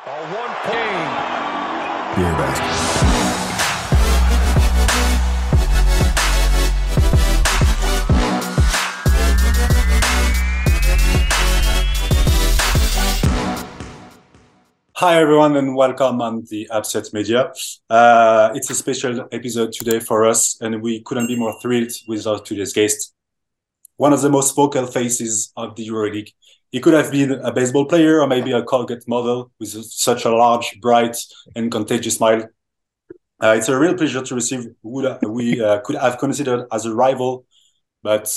One point. Beer basket. Hi everyone and welcome on the Upset Media. It's a special episode today for us and we couldn't be more thrilled with our today's guest. One of the most vocal faces of the EuroLeague. He could have been a baseball player or maybe a Colgate model with such a large, bright and contagious smile. It's a real pleasure to receive who we could have considered as a rival, but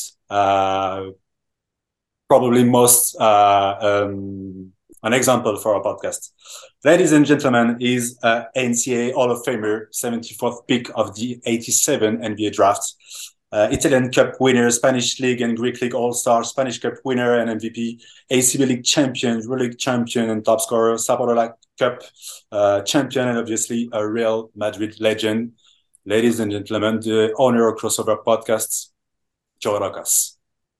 probably most an example for our podcast. Ladies and gentlemen, is NCAA Hall of Famer, 74th pick of the 87 NBA draft. Italian Cup winner, Spanish League and Greek League All-Star, Spanish Cup winner and MVP, ACB League champion, EuroLeague champion and top scorer, Sabadola Cup champion, and obviously a Real Madrid legend. Ladies and gentlemen, the owner of Crossover Podcasts, Joe Rokas.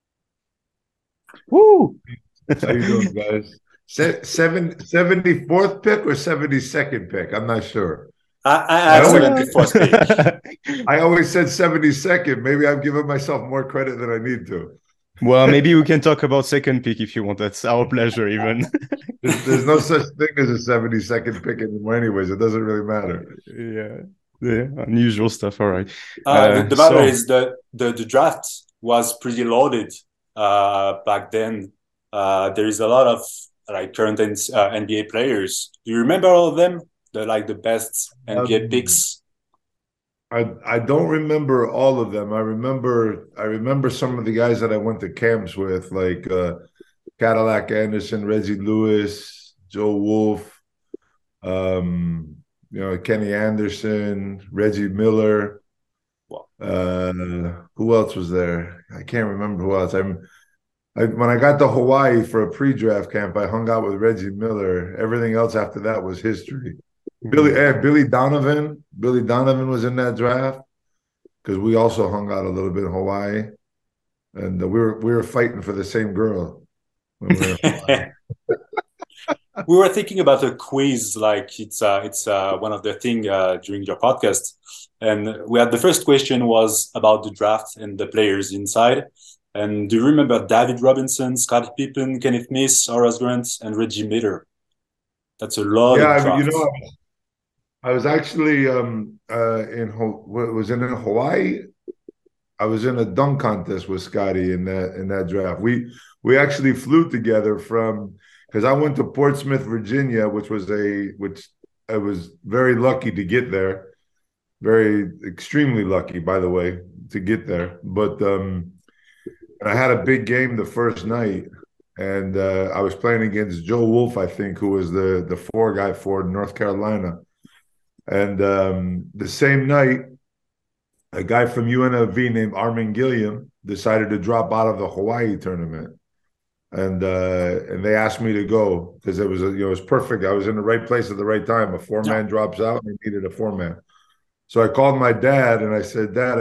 Woo! How you doing, guys? 74th pick or 72nd pick? I'm not sure. I 74th pick. I always said 72nd. Maybe I'm giving myself more credit than I need to. Well, maybe we can talk about second pick if you want. That's our pleasure, even. There's no such thing as a 72nd pick anymore anyways. It doesn't really matter. Yeah, unusual stuff. All right. The matter is that the draft was pretty loaded back then. There is a lot of current NBA players. Do you remember all of them? The best NBA picks? I don't remember all of them. I remember some of the guys that I went to camps with, like Cadillac Anderson, Reggie Lewis, Joe Wolf, Kenny Anderson, Reggie Miller. Who else was there? I can't remember who else. When I got to Hawaii for a pre-draft camp, I hung out with Reggie Miller. Everything else after that was history. Billy Donovan. Billy Donovan was in that draft because we also hung out a little bit in Hawaii, and we were fighting for the same girl when we were in Hawaii. We were thinking about a quiz, it's one of the things during your podcast, and we had the first question was about the draft and the players inside. And do you remember David Robinson, Scottie Pippen, Kenneth Smith, Horace Grant, and Reggie Miller? That's a lot. Yeah, I was actually in Hawaii. I was in a dunk contest with Scottie in that draft. We actually flew together because I went to Portsmouth, Virginia, which I was very lucky to get there. Extremely lucky, by the way, to get there. But I had a big game the first night, and I was playing against Joe Wolf, I think, who was the 4 guy for North Carolina. And the same night, a guy from UNLV named Armin Gilliam decided to drop out of the Hawaii tournament, and they asked me to go because it was perfect. I was in the right place at the right time. A 4-man drops out, and they needed a 4-man. So I called my dad, and I said, Dad,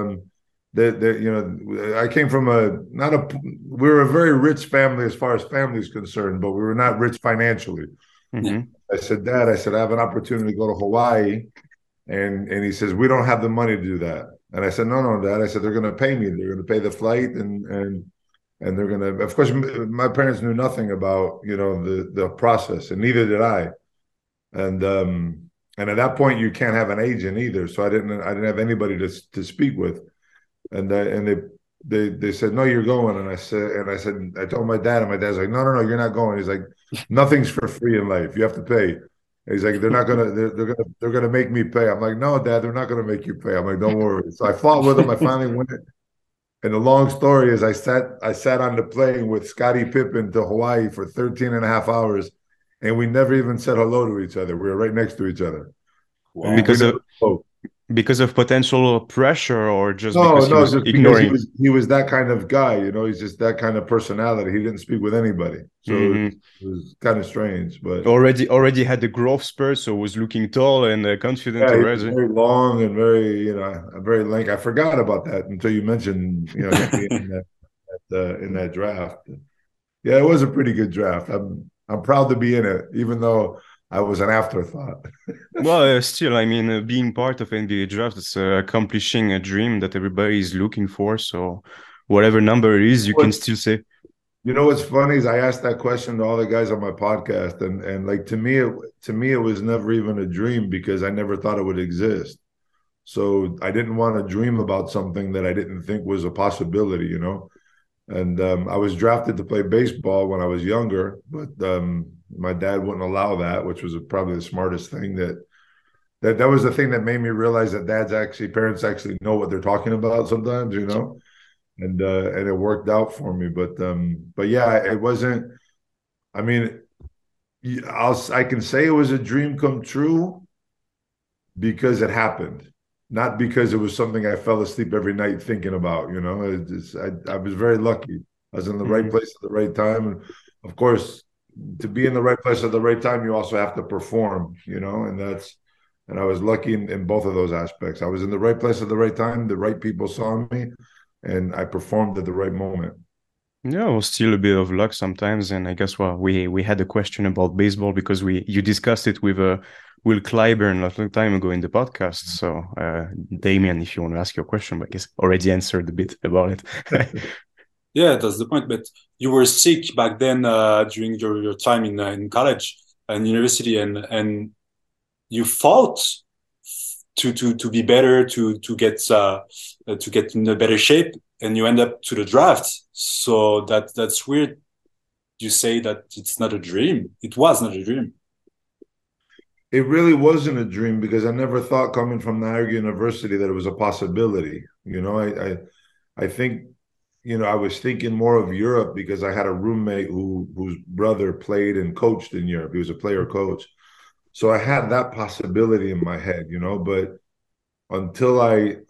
I came from we were a very rich family as far as family is concerned, but we were not rich financially. Mm-hmm. I said, Dad, I have an opportunity to go to Hawaii. And he says, we don't have the money to do that. And I said, no, Dad. I said, they're going to pay me. They're going to pay the flight and they're going to, of course, my parents knew nothing about, the process, and neither did I. And at that point you can't have an agent either. So I didn't have anybody to speak with. And they said, no, you're going. And I said, I told my dad, and my dad's like, no, you're not going. He's like, nothing's for free in life. You have to pay. And he's like, they're gonna make me pay. I'm like, no, Dad, they're not gonna make you pay. I'm like, don't worry. So I fought with him. I finally went. And the long story is I sat on the plane with Scottie Pippen to Hawaii for 13 and a half hours, and we never even said hello to each other. We were right next to each other. Wow. Because of potential pressure, or just because he was ignoring? Because he was that kind of guy, he's just that kind of personality. He didn't speak with anybody. So it was kind of strange. But already had the growth spurt, so was looking tall and confident already. He was very long and very, very lanky. I forgot about that until you mentioned, in that draft. Yeah, it was a pretty good draft. I'm proud to be in it, even though I was an afterthought. Well, still, I mean, being part of NBA draft is accomplishing a dream that everybody is looking for. So, whatever number it is, you can still say. You know what's funny is I asked that question to all the guys on my podcast, and like to me it was never even a dream because I never thought it would exist. So I didn't want to dream about something that I didn't think was a possibility, you know. And I was drafted to play baseball when I was younger, but my dad wouldn't allow that, which was probably the smartest thing. That was the thing that made me realize that parents actually know what they're talking about sometimes, you know. And it worked out for me. But yeah, it wasn't. I mean, I can say it was a dream come true because it happened, not because it was something I fell asleep every night thinking about. You know, I was very lucky. I was in the right place at the right time, and of course, to be in the right place at the right time, you also have to perform. You know, and I was lucky in both of those aspects. I was in the right place at the right time. The right people saw me, and I performed at the right moment. Yeah, well, still a bit of luck sometimes, and I guess we had a question about baseball because you discussed it with Will Clyburn a long time ago in the podcast. So, Damien, if you want to ask your question, but I guess already answered a bit about it. Yeah, that's the point. But you were sick back then during your time in college and university, and you fought to be better, to get in a better shape, and you end up to the draft. So that's weird. You say that it's not a dream. It was not a dream. It really wasn't a dream because I never thought coming from Niagara University that it was a possibility. You know, I think, you know, I was thinking more of Europe because I had a roommate whose brother played and coached in Europe. He was a player coach. So I had that possibility in my head, you know, but until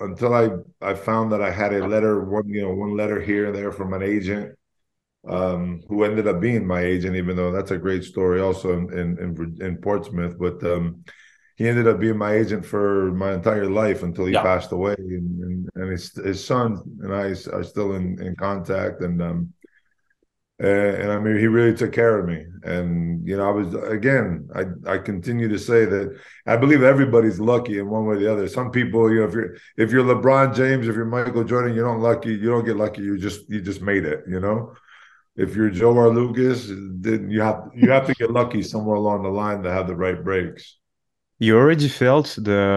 I found that I had a letter, one letter here and there from an agent, who ended up being my agent, even though that's a great story also in Portsmouth. But he ended up being my agent for my entire life until he passed away. And his son and I are still in contact. And I mean, he really took care of me. And, you know, I continue to say that I believe everybody's lucky in one way or the other. Some people, you know, if you're LeBron James, if you're Michael Jordan, you don't get lucky. You just made it, you know. If you're Joe or Lucas, then you have to get lucky somewhere along the line to have the right breaks. You already felt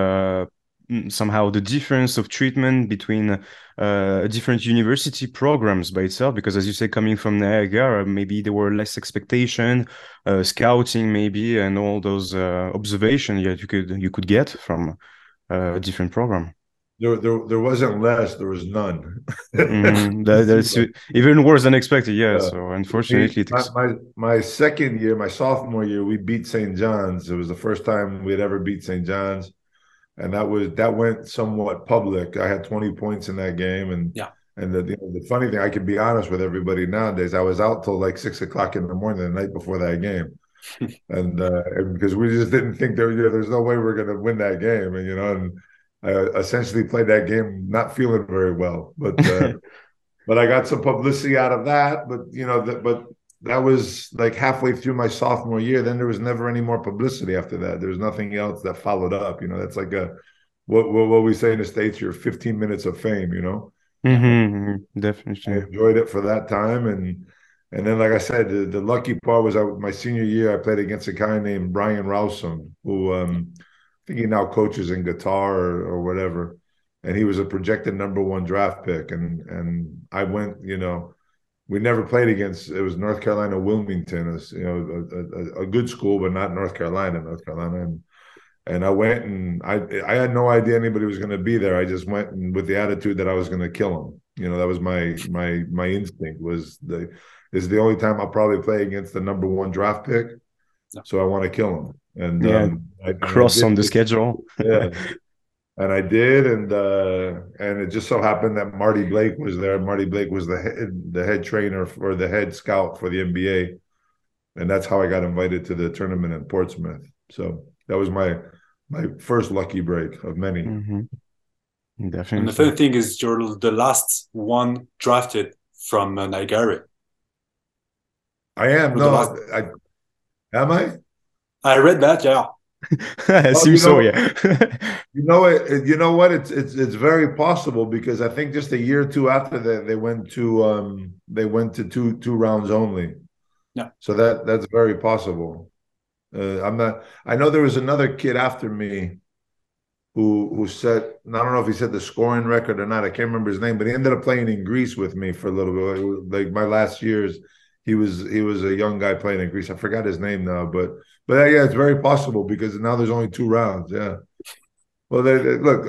somehow the difference of treatment between different university programs by itself, because as you say, coming from Niagara, maybe there were less expectation, scouting maybe, and all those observations that you could get from a different program. There wasn't less, there was none. That's even worse than expected. Yeah. So unfortunately, my second year, my sophomore year, we beat St. John's. It was the first time we had ever beat St. John's, and that went somewhat public. I had 20 points in that game, and the funny thing, I can be honest with everybody nowadays. I was out till like 6 o'clock in the morning the night before that game, and because we just didn't think there's no way we're going to win that game, and you know. And I essentially played that game not feeling very well, but but I got some publicity out of that. But you know, but that was like halfway through my sophomore year. Then there was never any more publicity after that. There was nothing else that followed up. You know, that's like what we say in the States, your 15 minutes of fame. You know, definitely. I enjoyed it for that time, and then like I said, the lucky part was my senior year. I played against a guy named Brian Rowsome, who I think he now coaches in Qatar or whatever, and he was a projected #1 draft pick. And I went, you know, we never played against. It was North Carolina Wilmington, you know, a good school, but not North Carolina. And I went, and I had no idea anybody was going to be there. I just went with the attitude that I was going to kill him. You know, that was my instinct. This is the only time I'll probably play against the #1 draft pick, so I want to kill him. And cross on the schedule. Yeah, and I did, and it just so happened that Marty Blake was there. Marty Blake was the head trainer or the head scout for the NBA, and that's how I got invited to the tournament in Portsmouth. So that was my first lucky break of many. Definitely. And the funny thing is, you're the last one drafted from Niagara. I am. Am I? I read that. Yeah, I Well, assume so, yeah. you know what? It's very possible because I think just a year or two after that they went to two rounds only. yeah. So that's very possible. I'm not. I know there was another kid after me who set. I don't know if he set the scoring record or not. I can't remember his name, but he ended up playing in Greece with me for a little bit. Like my last years, he was a young guy playing in Greece. I forgot his name now, but yeah, it's very possible because now there's only two rounds. Yeah. Well, look,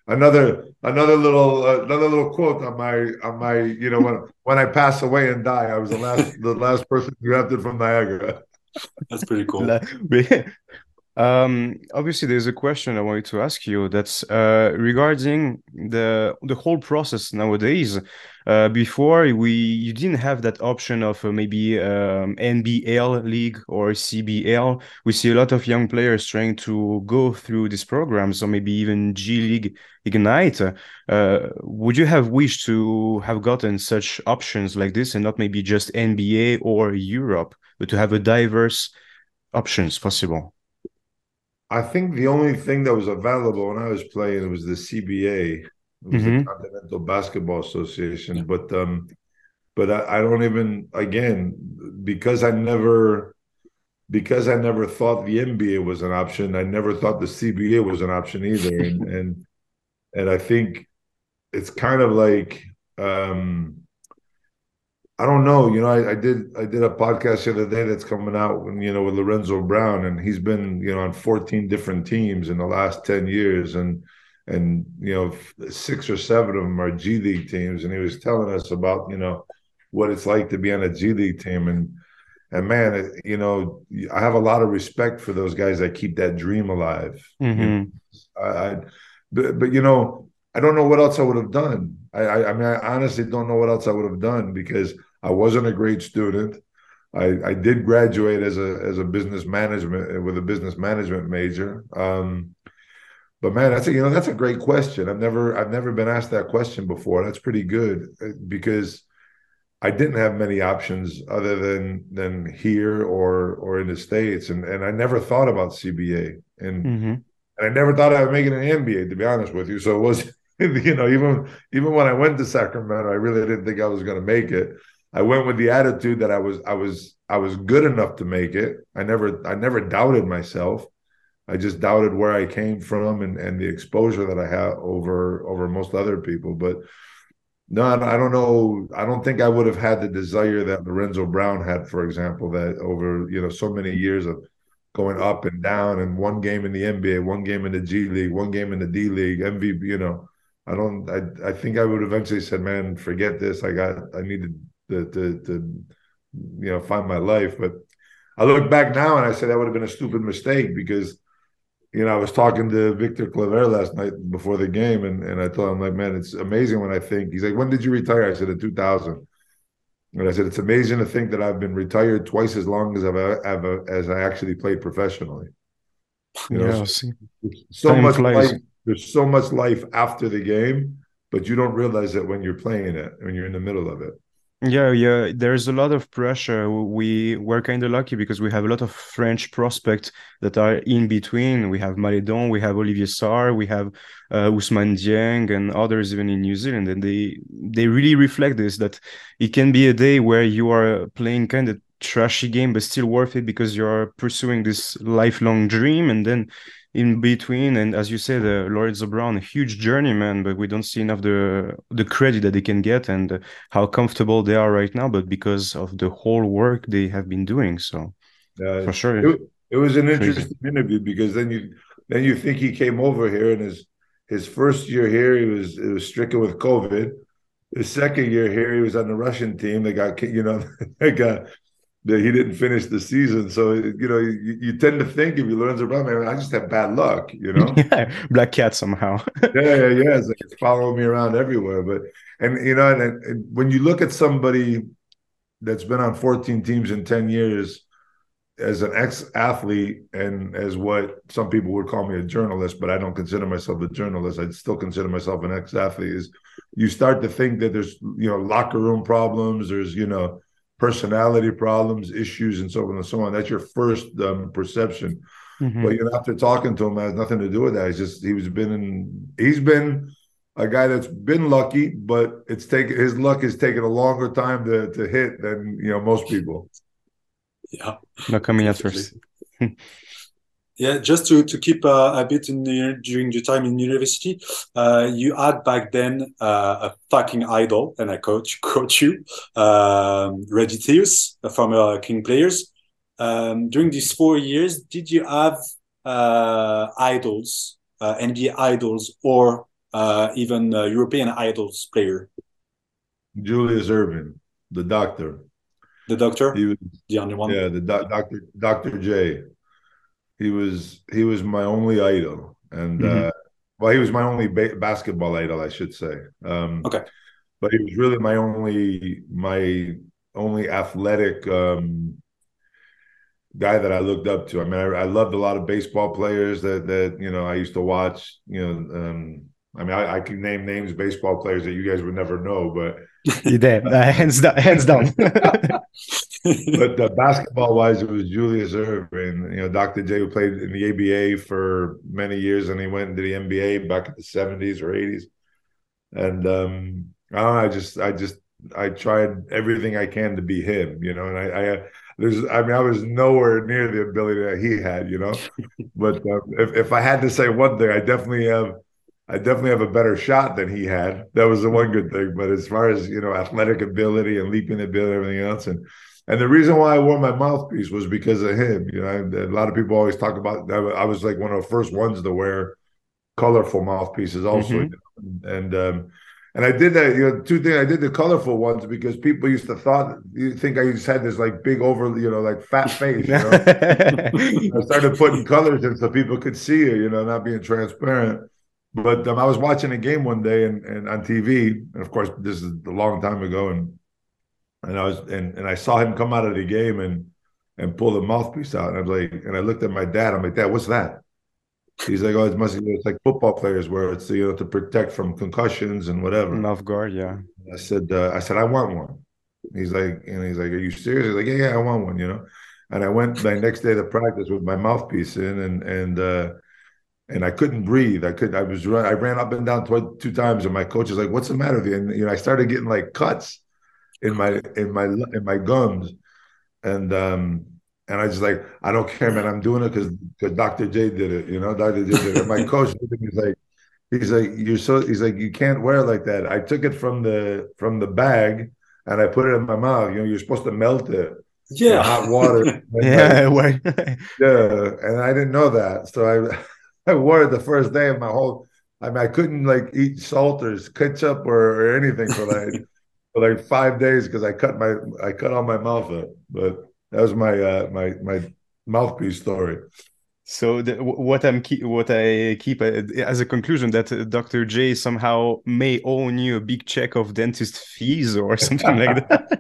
another little quote on my when I pass away and die, I was the last person drafted from Niagara. That's pretty cool. La- Obviously, there's a question I wanted to ask you that's regarding the whole process nowadays. Before you didn't have that option of maybe NBL league or CBL. We see a lot of young players trying to go through these programs, or maybe even G League Ignite. Would you have wished to have gotten such options like this and not maybe just NBA or Europe, but to have a diverse options possible? I think the only thing that was available when I was playing was the CBA. It was the Mm-hmm. Continental Basketball Yeah. Association. But I don't even again because I never thought the NBA was an option. I never thought the CBA was an option either. And I think it's kind of like I don't know. I did a podcast the other day that's coming out with Lorenzo Brown, and he's been on 14 different teams in the last 10 years, and six or seven of them are G League teams, and he was telling us about what it's like to be on a G League team, and man, I have a lot of respect for those guys that keep that dream alive. Mm-hmm. I but I don't know what else I would have done. I mean, I honestly don't know what else I would have done because I wasn't a great student. I did graduate as a business management with a business management major. But man, that's a great question. I've never been asked that question before. That's pretty good because I didn't have many options other than here or in the States, and I never thought about CBA, Mm-hmm. and I never thought I would make it in the NBA, to be honest with you. So it was, even when I went to Sacramento, I really didn't think I was going to make it. I went with the attitude that I was good enough to make it. I never doubted myself. I just doubted where I came from and the exposure that I had over most other people. But no, I don't know. I don't think I would have had the desire that Lorenzo Brown had, for example, that over so many years of going up and down, and one game in the NBA, one game in the G League, one game in the D League, MVP. I don't. I think I would eventually said, "Man, forget this. I needed to find my life." But I look back now and I said that would have been a stupid mistake because I was talking to Victor Claver last night before the game, and I told him, like, man, it's amazing when I think. He's like, when did you retire? I said, in 2000. And I said, it's amazing to think that I've been retired twice as long as I actually played professionally. Yeah, So see, so time much life. flies. There's so much life after the game, but you don't realize it when you're playing it, when you're in the middle of it. Yeah, yeah. There's a lot of pressure. We're kind of lucky because we have a lot of French prospects that are in between. We have Maledon, we have Olivier Sarr, we have Ousmane Dieng, and others even in New Zealand, and they really reflect this that it can be a day where you are playing kind of trashy game, but still worth it because you're pursuing this lifelong dream, and then in between. And as you said, Lorenzo Brown, a huge journeyman, but we don't see enough the credit that they can get and how comfortable they are right now, but because of the whole work they have been doing. So Uh, for sure, it was an crazy. interesting interview because then you think he came over here and his first year here it was stricken with COVID. His second year here he was on the Russian team. They got they got that he didn't finish the season. So you tend to think if you learn about man, I just have bad luck. Yeah, Black Cat somehow. Yeah. It's like it's following me around everywhere. But and when you look at somebody that's been on 14 teams in 10 years as an ex-athlete and as what some people would call me a journalist, but I don't consider myself a journalist. I still consider myself an ex-athlete. Is you start to think that there's locker room problems, there's personality problems, issues, and so on and so on. That's your first perception. Mm-hmm. But after talking to him, it has nothing to do with that. It's just he's been a guy that's been lucky, but his luck has taken a longer time to hit than most people. Yeah, Not coming at first. Yeah, just to keep a bit during your time in university, you had back then a fucking idol, and I quote you, Reggie Theus, a former King players. During these 4 years, did you have idols, NBA idols, or even European idols player? Julius Erving, the doctor. The doctor? He was the only one? Yeah, the Dr. J. He was my only idol, and he was my only basketball idol, I should say. Okay, but he was really my only athletic guy that I looked up to. I mean, I loved a lot of baseball players that I used to watch. I mean, I can name names of baseball players that you guys would never know, but you did, hands down. But basketball-wise, it was Julius Erving, Dr. J, who played in the ABA for many years, and he went into the NBA back in the 70s or 80s. And I don't know, I tried everything I can to be him, and I was nowhere near the ability that he had, But if I had to say one thing, I definitely have a better shot than he had. That was the one good thing. But as far as athletic ability and leaping ability, and everything else, and the reason why I wore my mouthpiece was because of him. A lot of people always talk about. I was like one of the first ones to wear colorful mouthpieces, also, and I did that. Two things. I did the colorful ones because people used to think I just had this like big like fat face. I started putting colors in so people could see it. Not being transparent. But I was watching a game one day and on TV, and of course this is a long time ago, and I saw him come out of the game and pull the mouthpiece out, and I was like, and I looked at my dad. I'm like, Dad, what's that? He's like, oh, it's like football players where it's to protect from concussions and whatever. Mouth guard, yeah. I said, I want one. He's like, are you serious? He's like, yeah, I want one. And I went the next day to practice with my mouthpiece in, and I couldn't breathe. I ran up and down 2 times, and my coach was like, "What's the matter with you?" And I started getting like cuts in my gums, and I just like, I don't care, man. I'm doing it because Dr. J did it. Dr. J did it. And my coach, he's like, you can't wear it like that. I took it from the bag and I put it in my mouth. You're supposed to melt it. Yeah, in hot water. Yeah, yeah, and I didn't know that, so I wore it the first day of my whole. I mean, I couldn't like eat salt or ketchup or anything for like 5 days because I cut all my mouth up. But that was my mouthpiece story. So what I keep as a conclusion that Dr. J somehow may owe you a big check of dentist fees or something like that.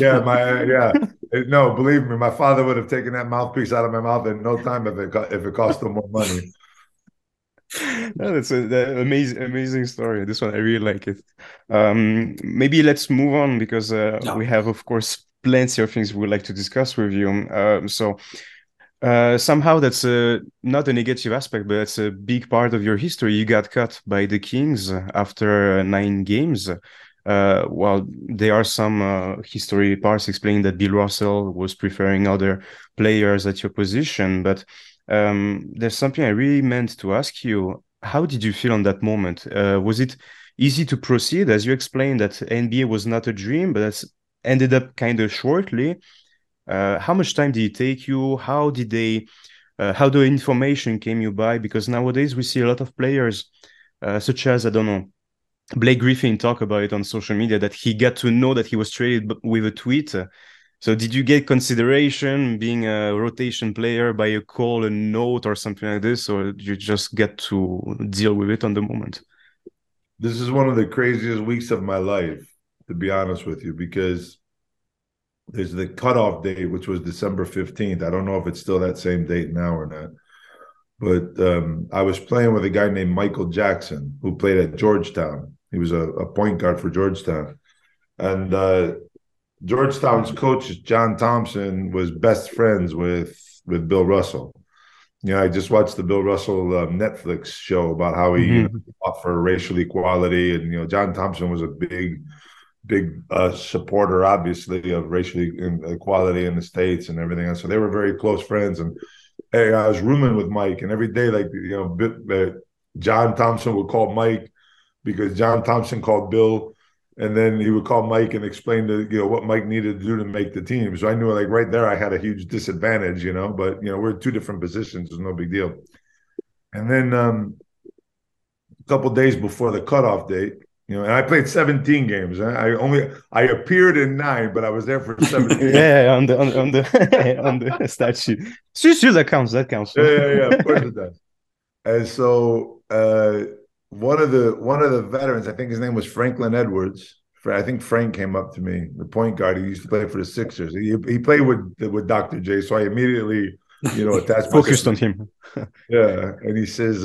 No, believe me, my father would have taken that mouthpiece out of my mouth in no time if it cost him more money. No, that's an amazing story. This one, I really like it. Maybe let's move on because we have, of course, plenty of things we would like to discuss with you. Somehow that's not a negative aspect, but that's a big part of your history. You got cut by the Kings after 9 games. While there are some history parts explaining that Bill Russell was preferring other players at your position, but there's something I really meant to ask you. How did you feel on that moment? Was it easy to proceed? As you explained that NBA was not a dream, but that's ended up kind of shortly. How much time did it take you? How the information came you by? Because nowadays we see a lot of players, such as, I don't know, Blake Griffin talk about it on social media, that he got to know that he was traded with a tweet. So did you get consideration being a rotation player by a call, a note, or something like this, or did you just get to deal with it on the moment? This is one of the craziest weeks of my life, to be honest with you, because there's the cutoff date, which was December 15th. I don't know if it's still that same date now or not. But I was playing with a guy named Michael Jackson, who played at Georgetown. He was a point guard for Georgetown. And Georgetown's coach, John Thompson, was best friends with Bill Russell. I just watched the Bill Russell Netflix show about how he Mhm. fought for racial equality, and John Thompson was a big supporter, obviously, of racial equality in the States and everything else. So they were very close friends. And hey, I was rooming with Mike, and every day, like John Thompson would call Mike because John Thompson called Bill, and then he would call Mike and explain what Mike needed to do to make the team. So I knew, like, right there I had a huge disadvantage, but we're two different positions. It's no big deal. And then a couple days before the cutoff date, and I played 17 games. I appeared in 9, but I was there for 17. Yeah, on the statue. Sure, that counts. That counts. Yeah. Of course it does. And so one of the veterans, I think his name was Franklin Edwards. I think Frank came up to me, the point guard. He used to play for the Sixers. He played with Dr. J, so I immediately, attached Focused on myself. him. Yeah, and he says,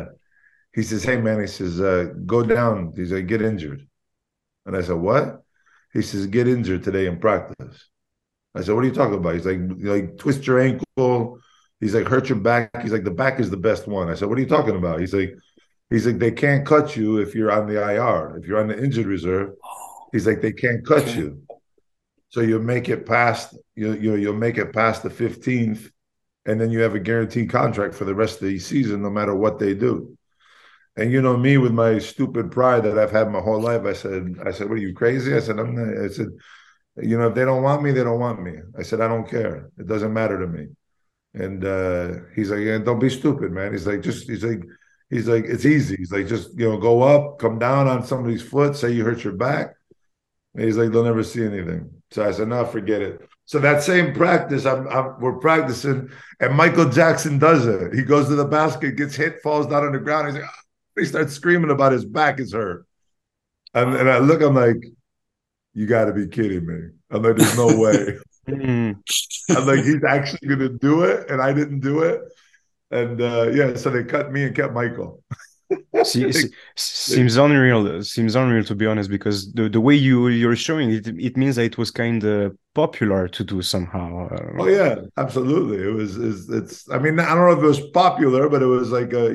"Hey man," he says, "go down." He's like, "Get injured," and I said, "What?" He says, "Get injured today in practice." I said, "What are you talking about?" He's like twist your ankle. He's like, hurt your back. He's like, the back is the best one. I said, "What are you talking about?" He's like, they can't cut you if you're on the IR. If you're on the injured reserve, he's like, they can't cut you. So you'll make it past you'll make it past the 15th, and then you have a guaranteed contract for the rest of the season, no matter what they do. And me, with my stupid pride that I've had my whole life, I said, "What are you, crazy?" I said, "I'm not." I said, "If they don't want me, they don't want me." I said, "I don't care. It doesn't matter to me." And he's like, "Yeah, don't be stupid, man." He's like, "It's easy." He's like, "Just go up, come down on somebody's foot, say you hurt your back." And he's like, "They'll never see anything." So I said, "No, forget it." So that same practice, we're practicing, and Michael Jackson does it. He goes to the basket, gets hit, falls down on the ground. He's like, "Ah." He starts screaming about his back is hurt. And I look, I'm like, "You got to be kidding me." I'm like, "There's no way." Mm. I'm like, "He's actually going to do it," and I didn't do it. And yeah, so they cut me and kept Michael. See, they, they, seems unreal. Seems unreal, to be honest, because the way you're showing it, it means that it was kind of popular to do somehow. oh yeah, absolutely. It's. I mean, I don't know if it was popular, but it was like a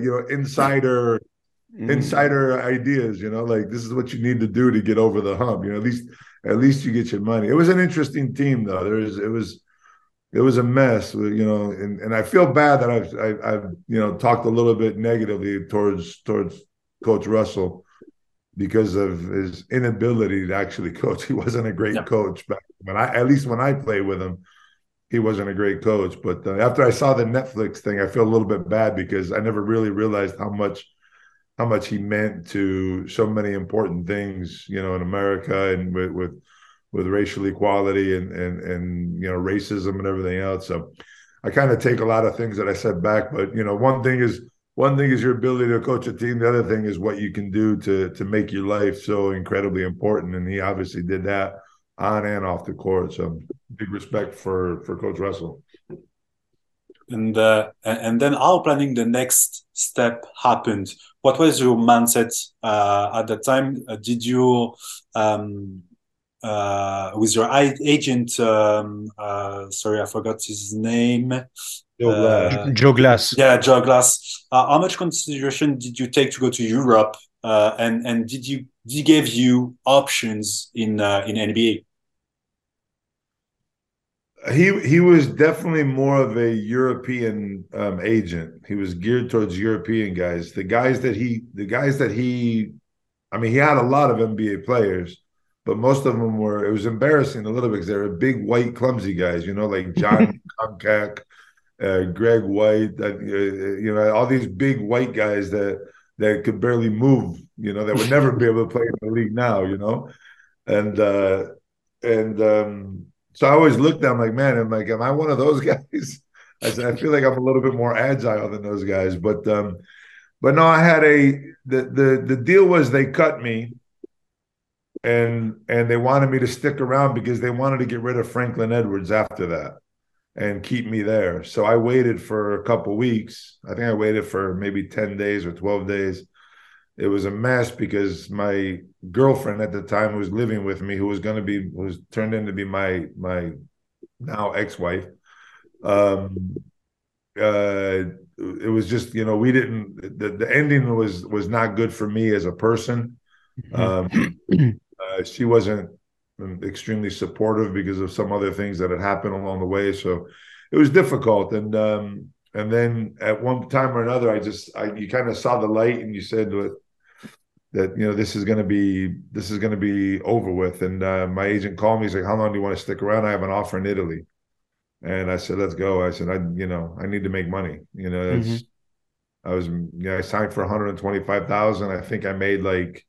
Mm. insider ideas. Like, this is what you need to do to get over the hump. At least you get your money. It was an interesting team, though. It was a mess, and I feel bad that I've talked a little bit negatively towards Coach Russell because of his inability to actually coach. He wasn't a great Yeah. coach back at least when I played with him, he wasn't a great coach. But after I saw the Netflix thing, I feel a little bit bad because I never really realized how much he meant to so many important things, in America, and with racial equality and racism and everything else. So I kind of take a lot of things that I said back, but one thing is your ability to coach a team. The other thing is what you can do to make your life so incredibly important. And he obviously did that on and off the court. So big respect for Coach Russell. And then how planning the next step happened? What was your mindset at that time? Did you with your agent? Sorry, I forgot his name. Joe Glass. Joe Glass. Yeah, Joe Glass. How much consideration did you take to go to Europe? And did he give you options in NBA? He was definitely more of a European agent. He was geared towards European guys. I mean, he had a lot of NBA players, but most of them were. It was embarrassing a little bit because they were big, white, clumsy guys. Like John Comcack, Greg White. All these big white guys that could barely move. That would never be able to play in the league now. And so I always looked at him like, man, am I one of those guys? I said, I feel like I'm a little bit more agile than those guys. But no, I had the deal was they cut me and they wanted me to stick around because they wanted to get rid of Franklin Edwards after that and keep me there. So I waited for a couple weeks. I think I waited for maybe 10 days or 12 days. it was a mess because my girlfriend at the time who was living with me, who was turned into be my now ex-wife. Um, it was just, we didn't, the ending was not good for me as a person. She wasn't extremely supportive because of some other things that had happened along the way. So it was difficult. And then at one time or another, you kind of saw the light and you said that, this is going to be over with. And my agent called me. He's like, how long do you want to stick around? I have an offer in Italy. And I said, let's go. I said, I need to make money. I signed for 125,000. I think I made like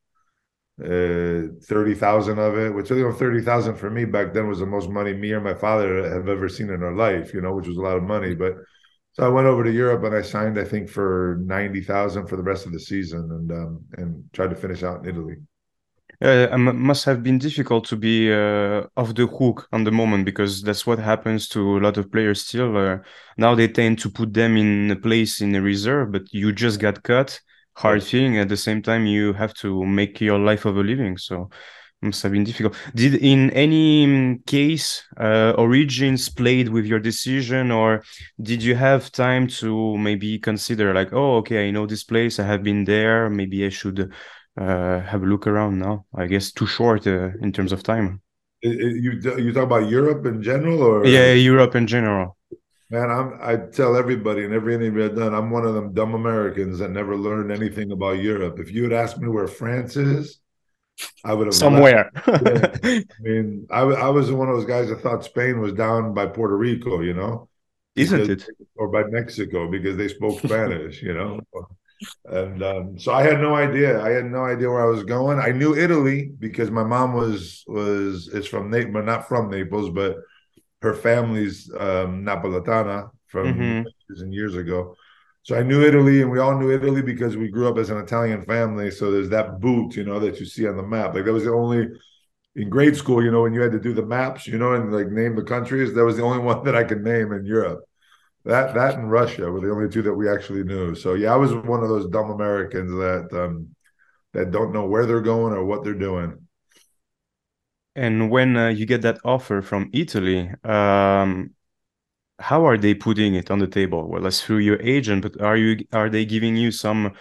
30,000 of it, which 30,000 for me back then was the most money me or my father have ever seen in our life, which was a lot of money. But so I went over to Europe and I signed, I think, for 90,000 for the rest of the season and tried to finish out in Italy. It must have been difficult to be off the hook on the moment, because that's what happens to a lot of players still. Now they tend to put them in a place in a reserve, but you just got cut, hard feeling. At the same time, you have to make your life of a living. So it must have been difficult. Did in any case Origins played with your decision, or did you have time to maybe consider like, oh, okay, I know this place, I have been there, maybe I should have a look around now? I guess too short in terms of time. You talk about Europe in general, or yeah, Europe in general? Man, I tell everybody in every interview I've done, I'm one of them dumb Americans that never learned anything about Europe. If you had asked me where France is, I would have somewhere. Yeah. I mean, I was one of those guys that thought Spain was down by Puerto Rico, Isn't it? Or by Mexico because they spoke Spanish, And so I had no idea. I had no idea where I was going. I knew Italy because my mom is from Naples, not from Naples, but her family's Napoletana from years and years ago. So I knew Italy, and we all knew Italy because we grew up as an Italian family. So there's that boot, that you see on the map. Like that was the only in grade school, when you had to do the maps, and like name the countries. That was the only one that I could name in Europe. That and Russia were the only two that we actually knew. So yeah, I was one of those dumb Americans that don't know where they're going or what they're doing. And when you get that offer from Italy, how are they putting it on the table? Well, that's through your agent, but are they giving you some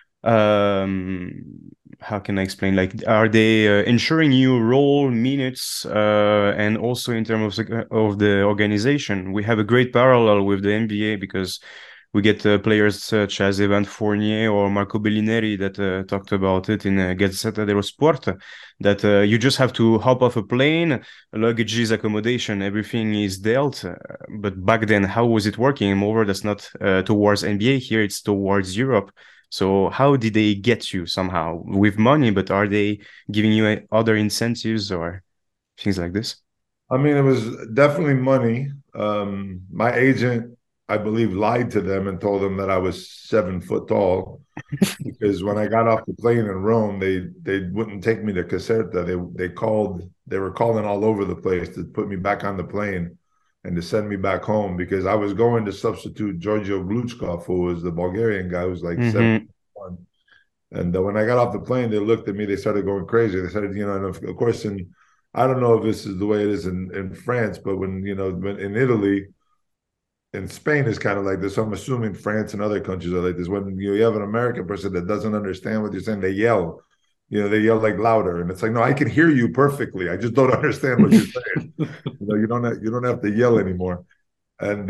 how can I explain? Like, are they ensuring you role minutes and also in terms of the organization? We have a great parallel with the NBA because we get players such as Evan Fournier or Marco Bellinelli that talked about it in Gazzetta dello Sport, that you just have to hop off a plane, luggages, accommodation, everything is dealt. But back then, how was it working? Moreover, that's not towards NBA here, it's towards Europe. So how did they get you somehow with money, but are they giving you other incentives or things like this? I mean, it was definitely money. My agent, I believe, lied to them and told them that I was 7 foot tall because when I got off the plane in Rome, they wouldn't take me to Caserta. They were calling all over the place to put me back on the plane and to send me back home because I was going to substitute Giorgio Gluchkov, who was the Bulgarian guy who was like 71. And when I got off the plane, they looked at me, they started going crazy. They started, and of course, I don't know if this is the way it is in France, but when in Italy, in Spain is kind of like this. So I'm assuming France and other countries are like this. When you have an American person that doesn't understand what you're saying, they yell. They yell like louder, and it's like, no, I can hear you perfectly. I just don't understand what you're saying. You don't have to yell anymore. And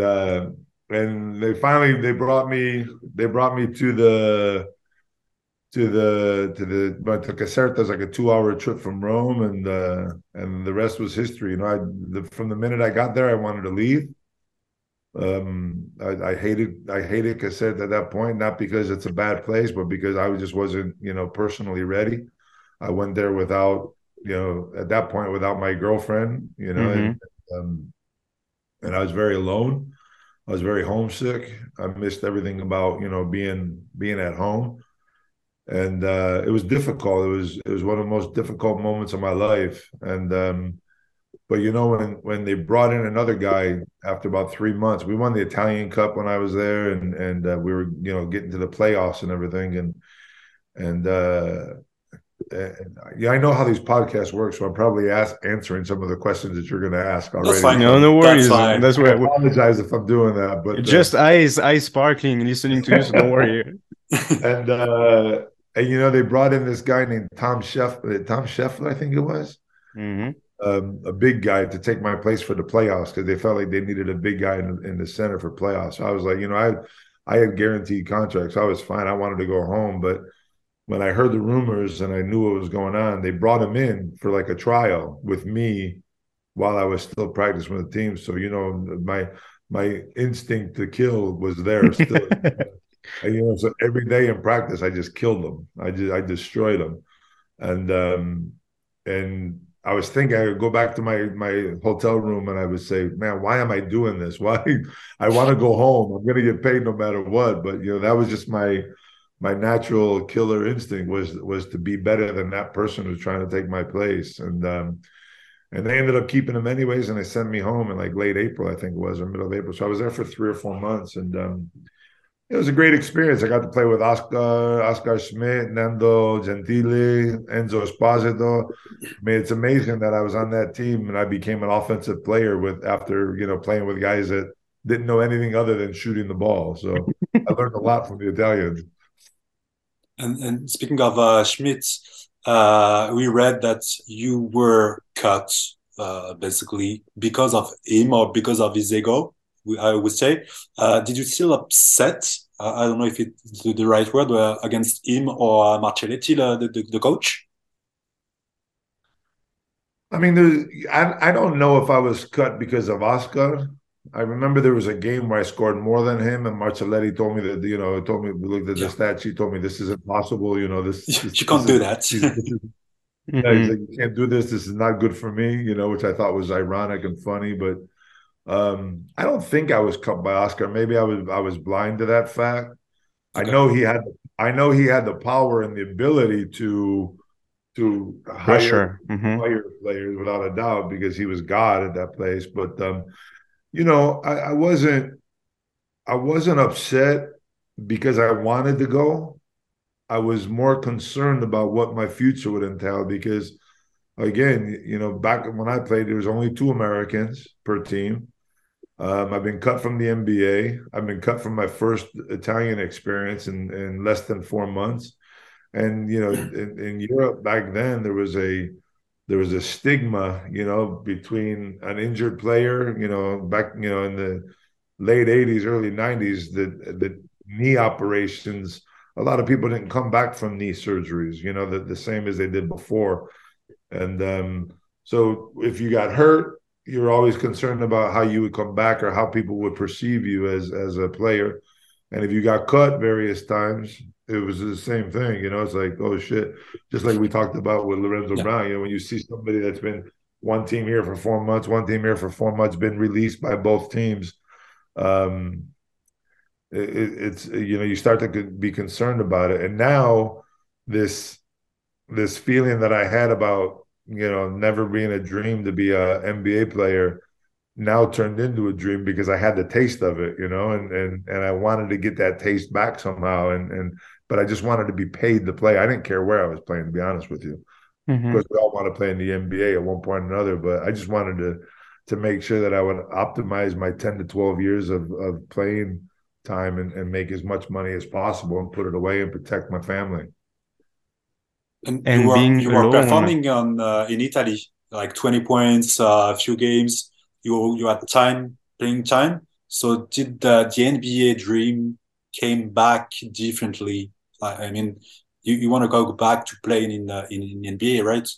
they brought me to Caserta. Is like a 2-hour trip from Rome, and the rest was history. From the minute I got there, I wanted to leave. I hated Caserta at that point, not because it's a bad place, but because I just wasn't, personally ready. I went there without, at that point, without my girlfriend, and I was very alone. I was very homesick. I missed everything about, being at home. And it was difficult. It was one of the most difficult moments of my life. And but when they brought in another guy after about 3 months, we won the Italian Cup when I was there, and we were getting to the playoffs and everything, And yeah, I know how these podcasts work, so I'm probably answering some of the questions that you're going to ask already. That's fine. No, no That's worries. fine. That's I why apologize if I'm doing that, but just eyes sparkling listening to you, so don't worry. and you know, they brought in this guy named Tom Scheffler, I think it was, a big guy to take my place for the playoffs because they felt like they needed a big guy in the center for playoffs. So I was like, you know, I had guaranteed contracts, so I was fine. I wanted to go home, but when I heard the rumors and I knew what was going on, they brought him in for like a trial with me while I was still practicing with the team. So, you know, my instinct to kill was there still. And, you know, so every day in practice, I just killed them. I destroyed them. And I was thinking I would go back to my hotel room and I would say, man, why am I doing this? Why I want to go home. I'm going to get paid no matter what. But, you know, that was just my natural killer instinct was to be better than that person who's trying to take my place. And they ended up keeping him anyways, and they sent me home in like late April, I think it was, or middle of April. So I was there for 3 or 4 months, and it was a great experience. I got to play with Oscar Schmidt, Nando Gentile, Enzo Esposito. I mean, it's amazing that I was on that team and I became an offensive player after, you know, playing with guys that didn't know anything other than shooting the ball. So I learned a lot from the Italians. And speaking of Schmidt, we read that you were cut basically because of him or because of his ego, I would say. Did you feel upset? I don't know if it's the right word, against him or Marcelletti, the coach? I mean, I don't know if I was cut because of Oscar. I remember there was a game where I scored more than him, and Marcelletti told me that, you know, told me, looked at the stat sheet, told me this is impossible. You know, you can't do that. Yeah, he's like, you can't do this. This is not good for me. You know, which I thought was ironic and funny, but I don't think I was cut by Oscar. Maybe I was blind to that fact. Okay. I know he had the power and the ability to hire players without a doubt because he was God at that place. But you know, I wasn't upset because I wanted to go. I was more concerned about what my future would entail because, again, you know, back when I played, there was only 2 Americans per team. I've been cut from the NBA. I've been cut from my first Italian experience in less than 4 months. And, you know, in Europe back then, there was a stigma, you know, between an injured player, you know, back, you know, in the late 80s, early 90s, the knee operations, a lot of people didn't come back from knee surgeries, you know, the same as they did before. And so if you got hurt, you're always concerned about how you would come back or how people would perceive you as a player. And if you got cut various times, it was the same thing. You know, it's like, oh, shit. Just like we talked about with Lorenzo Brown, you know, when you see somebody that's been one team here for 4 months, one team here for 4 months, been released by both teams, it's, you know, you start to be concerned about it. And now this feeling that I had about, you know, never being a dream to be a NBA player now turned into a dream because I had the taste of it, you know, and I wanted to get that taste back somehow. But I just wanted to be paid to play. I didn't care where I was playing, to be honest with you. Because we all want to play in the NBA at one point or another, but I just wanted to make sure that I would optimize my 10 to 12 years of playing time and make as much money as possible and put it away and protect my family. And being you were alone, performing in Italy, like 20 points, a few games. You had playing time. So did the NBA dream came back differently? I mean, you want to go back to playing in NBA, right?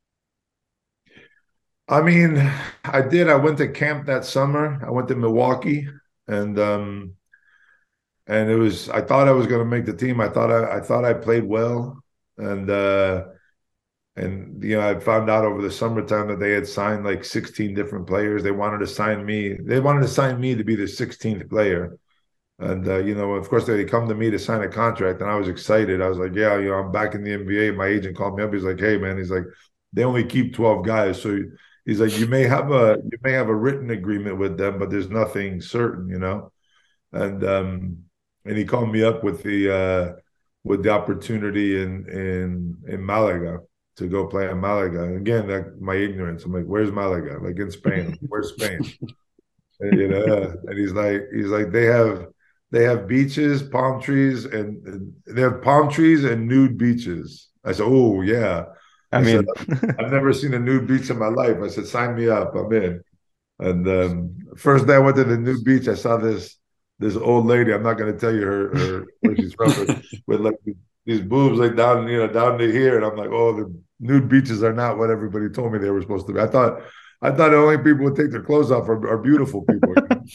I mean, I did. I went to camp that summer. I went to Milwaukee, and it was. I thought I was going to make the team. I thought I played well, and you know, I found out over the summertime that they had signed like 16 different players. They wanted to sign me. They wanted to sign me to be the 16th player. And, you know, of course, they come to me to sign a contract, and I was excited. I was like, yeah, you know, I'm back in the NBA. My agent called me up. He's like, hey, man, he's like, they only keep 12 guys. So he's like, you may have a written agreement with them, but there's nothing certain, you know. And he called me up with with the opportunity in Malaga to go play in Malaga. And again, that my ignorance. I'm like, where's Malaga? Like in Spain. Where's Spain? And, and he's like they have beaches, palm trees, and they have palm trees and nude beaches. I said, oh yeah. I I said, mean, I've never seen a nude beach in my life. I said, sign me up. I'm in. And first day I went to the nude beach, I saw this old lady. I'm not going to tell you her where she's from, but with like these boobs like down down to here, and I'm like, oh, the nude beaches are not what everybody told me they were supposed to be. I thought the only people who take their clothes off are beautiful people.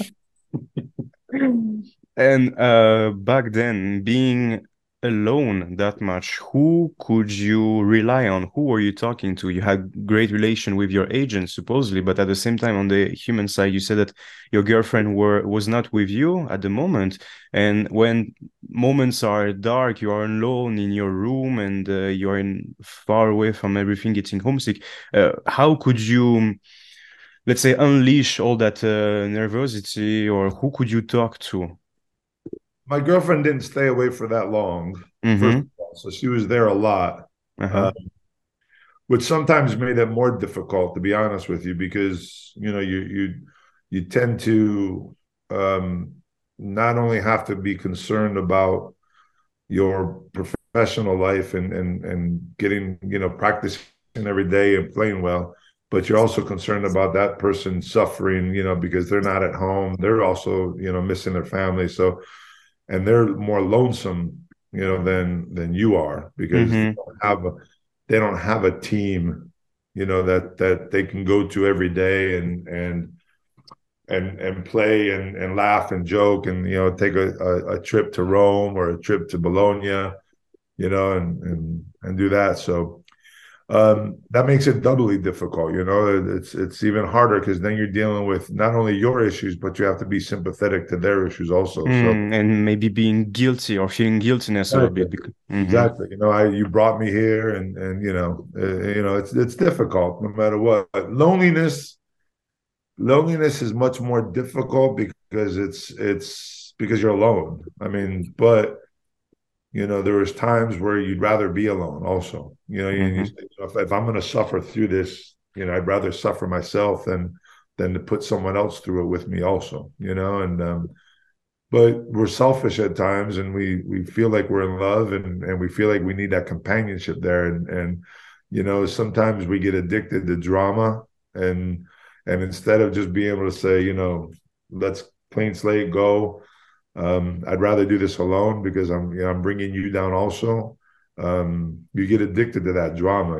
and back then, being alone that much, who could you rely on? Who were you talking to? You had great relation with your agent, supposedly, but at the same time, on the human side, you said that your girlfriend was not with you at the moment. And when moments are dark, you are alone in your room and you're far away from everything, getting homesick. How could you, let's say, unleash all that nervosity, or who could you talk to? My girlfriend didn't stay away for that long, first of all, so she was there a lot, Uh-huh. which sometimes made it more difficult, to be honest with you, because you tend to not only have to be concerned about your professional life and getting practicing every day and playing well, but you're also concerned about that person suffering, because they're not at home. They're also missing their family, so and they're more lonesome, than you are, because they don't have a team, that they can go to every day and play and laugh and joke and take a trip to Rome or a trip to Bologna, and do that. So that makes it doubly difficult. It's even harder because then you're dealing with not only your issues, but you have to be sympathetic to their issues also. And maybe being guilty or feeling guiltiness a little bit. Exactly. You brought me here, and it's difficult no matter what. But loneliness is much more difficult because it's because you're alone. I mean, but there was times where you'd rather be alone also. If I'm going to suffer through this, I'd rather suffer myself than to put someone else through it with me also, and but we're selfish at times, and we feel like we're in love, and we feel like we need that companionship there, and sometimes we get addicted to drama, and instead of just being able to say, let's clean slate, go. I'd rather do this alone because I'm bringing you down also. You get addicted to that drama,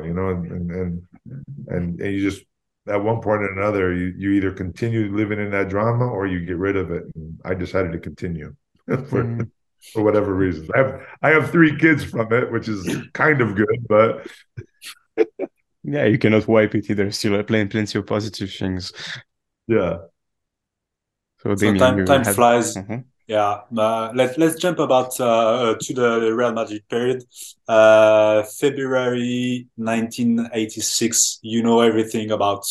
and you just at one point or another, you either continue living in that drama or you get rid of it. And I decided to continue for whatever reasons. I have 3 kids from it, which is kind of good, but yeah, you cannot wipe it either. Still plenty of positive things. Yeah. So time flies. Yeah, let's jump about to the Real Madrid period. February 1986. You know everything about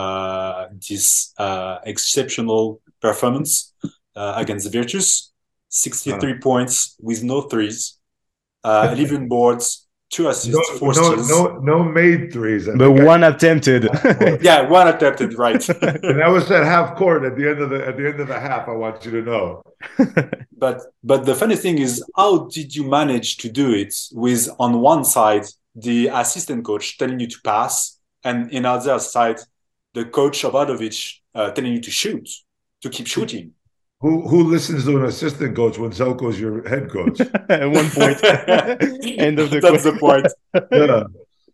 this exceptional performance against the Virtus. 63 points with no threes, 11 boards, 2 assists, 4 steals. No made threes. But one attempted. Yeah, one attempted, right. And that was at half court at the end of the half, I want you to know. But the funny thing is, how did you manage to do it with, on one side, the assistant coach telling you to pass, and in other side, the coach Obradovic telling you to shoot, to keep shooting? Who listens to an assistant coach when Zelko's your head coach? At one point. End of the That's the point. Yeah.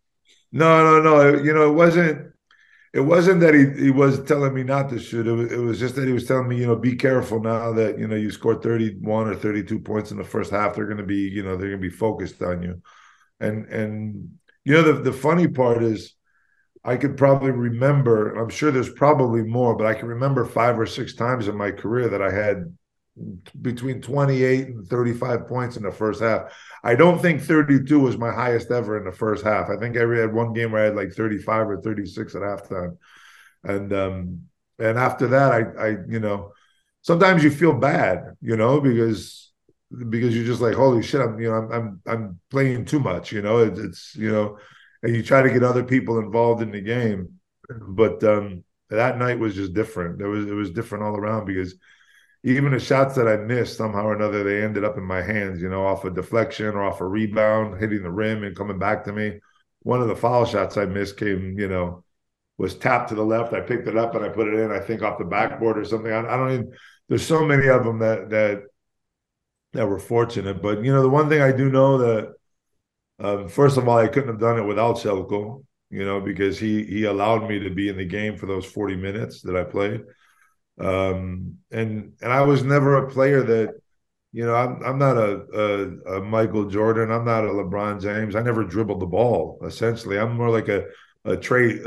No. It wasn't that he was telling me not to shoot. It was just that he was telling me, be careful now that, you scored 31 or 32 points in the first half. They're going to be focused on you. And the funny part is I could probably remember, I'm sure there's probably more, but I can remember 5 or 6 times in my career that I had between 28 and 35 points in the first half. I don't think 32 was my highest ever in the first half. I think I had one game where I had like 35 or 36 at halftime. And after that, I sometimes you feel bad, because because you're just like, holy shit, I'm playing too much, it's and you try to get other people involved in the game. But that night was just different. It was different all around because even the shots that I missed, somehow or another, they ended up in my hands, off a deflection or off a rebound, hitting the rim and coming back to me. One of the foul shots I missed came, was tapped to the left. I picked it up and I put it in, I think off the backboard or something. I don't even, there's so many of them that were fortunate. But, the one thing I do know that, first of all, I couldn't have done it without Selko, because he allowed me to be in the game for those 40 minutes that I played. And I was never a player that, I'm not a Michael Jordan. I'm not a LeBron James. I never dribbled the ball. Essentially, I'm more like a Klay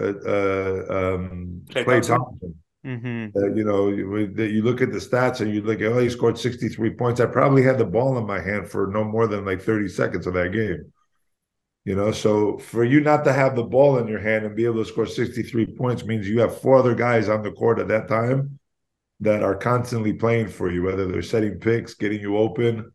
Thompson. Mm-hmm. You look at the stats and you look at, he scored 63 points. I probably had the ball in my hand for no more than like 30 seconds of that game. So for you not to have the ball in your hand and be able to score 63 points means you have four other guys on the court at that time that are constantly playing for you, whether they're setting picks, getting you open,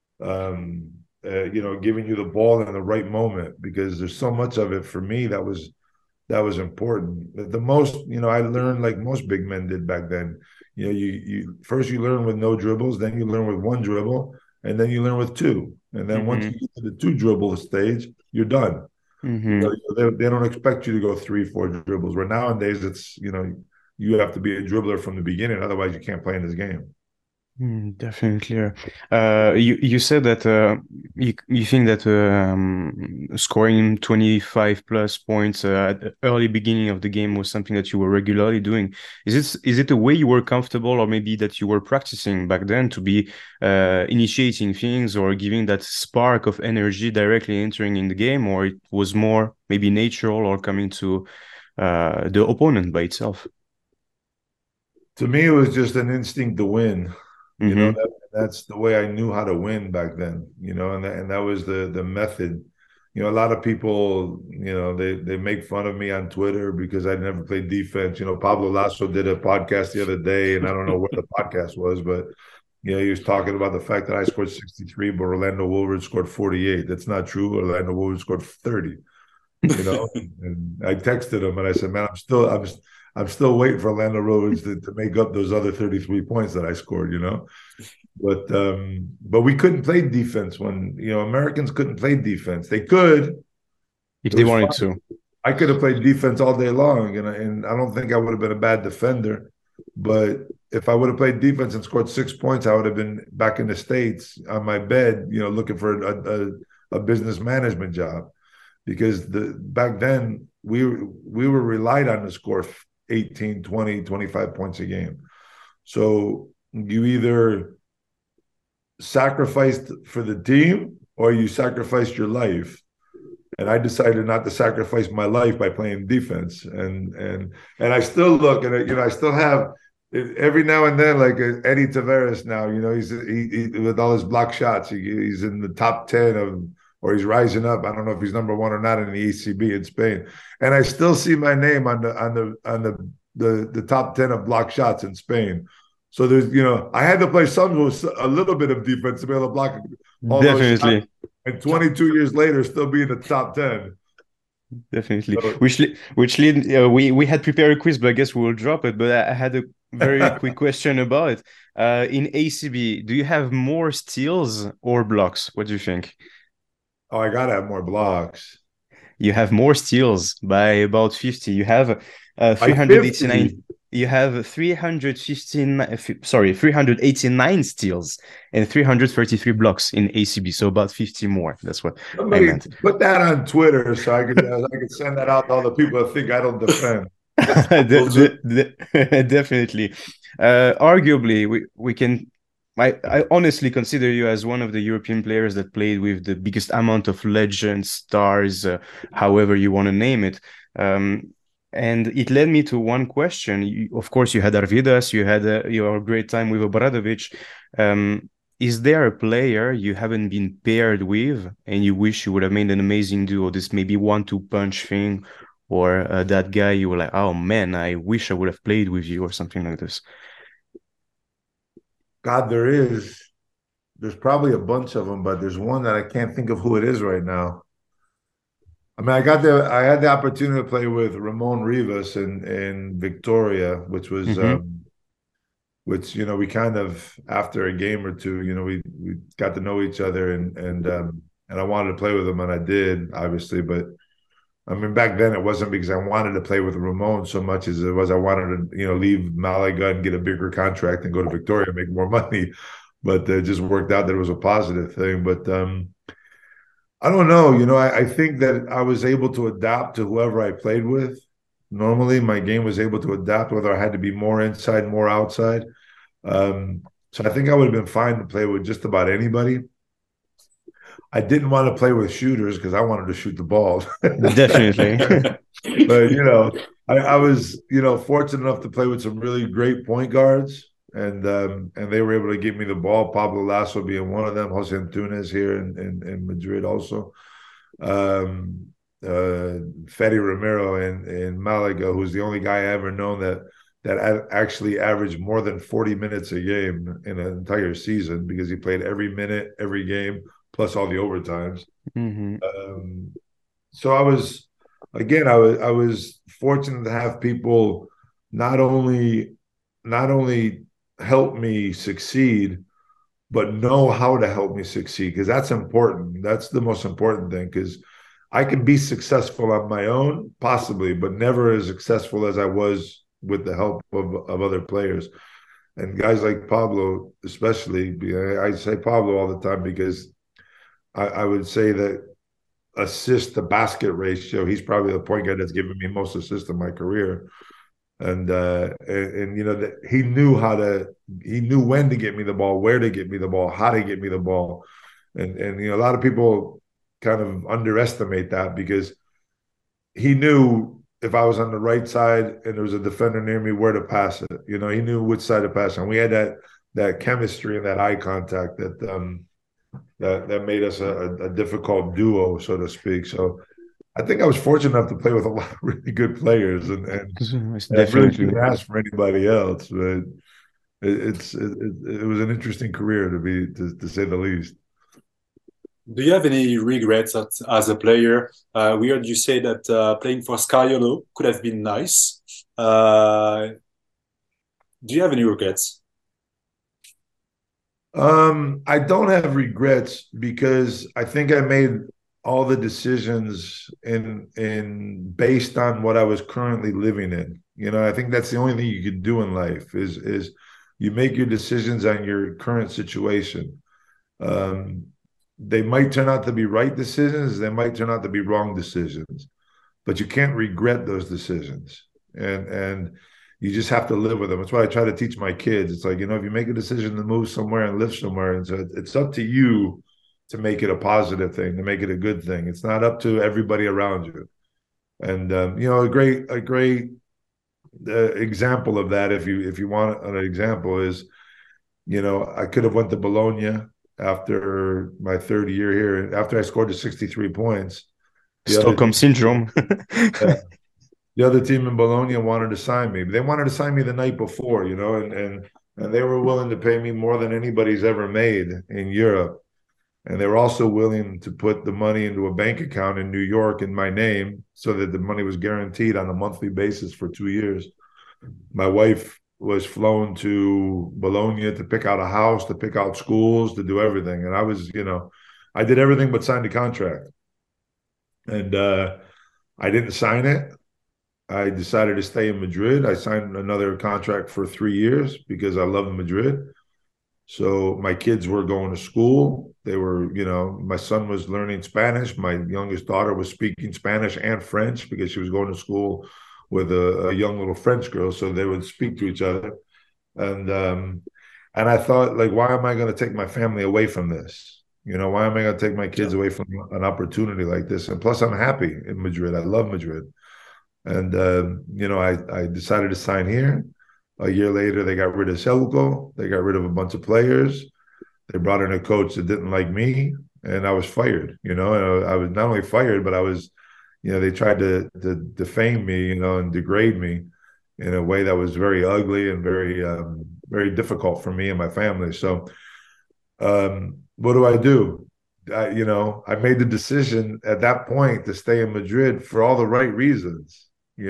giving you the ball in the right moment, because there's so much of it for me that was important. The most, I learned like most big men did back then. You first you learn with no dribbles, then you learn with one dribble, and then you learn with two. And then once you get to the two dribble stage, you're done. They don't expect you to go 3-4 dribbles. Where nowadays it's, you have to be a dribbler from the beginning, otherwise you can't play in this game. Definitely. You said that you think that scoring 25 plus points at the early beginning of the game was something that you were regularly doing. Is it a way you were comfortable, or maybe that you were practicing back then to be initiating things or giving that spark of energy directly entering in the game, or it was more maybe natural or coming to the opponent by itself? To me, it was just an instinct to win. That's the way I knew how to win back then, and that was the method. A lot of people, they make fun of me on Twitter because I never played defense. Pablo Lasso did a podcast the other day, and I don't know where the podcast was, but he was talking about the fact that I scored 63, but Orlando Woolridge scored 48. That's not true. Orlando Woolridge scored 30. And I texted him and I said, man, I'm still waiting for Orlando Woolridge to make up those other 33 points that I scored, But we couldn't play defense when, Americans couldn't play defense. They could. If they wanted to. I could have played defense all day long, and I don't think I would have been a bad defender. But if I would have played defense and scored 6 points, I would have been back in the States on my bed, looking for a business management job. Because back then we were relied on to score 18, 20, 25 points a game. So you either sacrificed for the team or you sacrificed your life. And I decided not to sacrifice my life by playing defense. And I still look and I still have every now and then, like Eddie Tavares now, he with all his block shots, he's in the top 10 of, or he's rising up. I don't know if he's number one or not in the ECB in Spain. And I still see my name on the top 10 of block shots in Spain. So there's, I had to play a little bit of defense to be able to block all those shots. And 22 years later, still be in the top 10. Definitely. So, which lead we had prepared a quiz, but I guess we will drop it. But I had a very quick question about it. In ACB, do you have more steals or blocks? What do you think? Oh, I gotta have more blocks. You have more steals by about 50. You have 389. You have 389 steals and 333 blocks in ACB. So about 50 more. That's what I meant. Put that on Twitter so I could send that out to all the people that think I don't defend. Definitely. Arguably, we can. I honestly consider you as one of the European players that played with the biggest amount of legends, stars, however you want to name it. And it led me to one question. Of course, you had Arvidas, you had your great time with Obradovic. Is there a player you haven't been paired with and you wish you would have made an amazing duo? This maybe 1-2 punch thing, or that guy you were like, oh man, I wish I would have played with you, or something like this? God, there is. there's probably a bunch of them, but there's one that I can't think of who it is right now. I mean, I had the opportunity to play with Ramon Rivas in Victoria, Mm-hmm. which we kind of after a game or two, we got to know each other, and I wanted to play with him, and I did, obviously. But I mean, back then it wasn't because I wanted to play with Ramon so much as it was I wanted to leave Malaga and get a bigger contract and go to Victoria and make more money. But it just worked out that it was a positive thing. But I don't know. I think that I was able to adapt to whoever I played with. Normally, my game was able to adapt, whether I had to be more inside, more outside. Um, so I think I would have been fine to play with just about anybody. I didn't want to play with shooters because I wanted to shoot the ball. Definitely. But I was fortunate enough to play with some really great point guards, and they were able to give me the ball. Pablo Lasso being one of them, Jose Antunes here in Madrid also, um, Fede Romero in Malaga, who's the only guy I ever known that actually averaged more than 40 minutes a game in an entire season because he played every minute, every game, plus all the overtimes. Mm-hmm. So I was fortunate to have people not only not only help me succeed, but know how to help me succeed because that's important. That's the most important thing because I can be successful on my own, possibly, but never as successful as I was with the help of other players. And guys like Pablo, especially, I say Pablo all the time because I would say that assist to basket ratio, he's probably the point guard that's given me most assists in my career. And that he knew when to get me the ball, where to get me the ball, how to get me the ball. And a lot of people kind of underestimate that because he knew if I was on the right side and there was a defender near me, where to pass it. He knew which side to pass on. We had that chemistry and that eye contact that made us a difficult duo, so to speak. So I think I was fortunate enough to play with a lot of really good players, It's and I really definitely. couldn't ask for anybody else. But it was an interesting career to say the least. Do you have any regrets as a player? We heard you say that playing for Scariolo could have been nice. Uh, do you have any regrets? I don't have regrets because I think I made all the decisions in based on what I was currently living in. I think that's the only thing you can do in life is you make your decisions on your current situation. Um, they might turn out to be right decisions, they might turn out to be wrong decisions, but you can't regret those decisions. And you just have to live with them. That's what I try to teach my kids. It's like, if you make a decision to move somewhere and live somewhere, and so it's up to you to make it a positive thing, to make it a good thing. It's not up to everybody around you. And a great example of that, if you want an example, is I could have went to Bologna after my third year here. After I scored the 63 points, the other Stockholm syndrome. uh, the other team in Bologna wanted to sign me. They wanted to sign me the night before, and they were willing to pay me more than anybody's ever made in Europe. And they were also willing to put the money into a bank account in New York in my name so that the money was guaranteed on a monthly basis for 2 years. My wife was flown to Bologna to pick out a house, to pick out schools, to do everything. And I did everything but sign the contract. And I didn't sign it. I decided to stay in Madrid. I signed another contract for 3 years because I love Madrid. So my kids were going to school. They were, my son was learning Spanish. My youngest daughter was speaking Spanish and French because she was going to school with a young little French girl. So they would speak to each other. And I thought, like, why am I going to take my family away from this? Why am I going to take my kids Yeah. away from an opportunity like this? And plus, I'm happy in Madrid. I love Madrid. And I decided to sign here. A year later, they got rid of Selko. They got rid of a bunch of players. They brought in a coach that didn't like me, and I was fired. And I was not only fired, but I was, they tried to defame me, and degrade me in a way that was very ugly and very difficult for me and my family. So What do I do? I made the decision at that point to stay in Madrid for all the right reasons,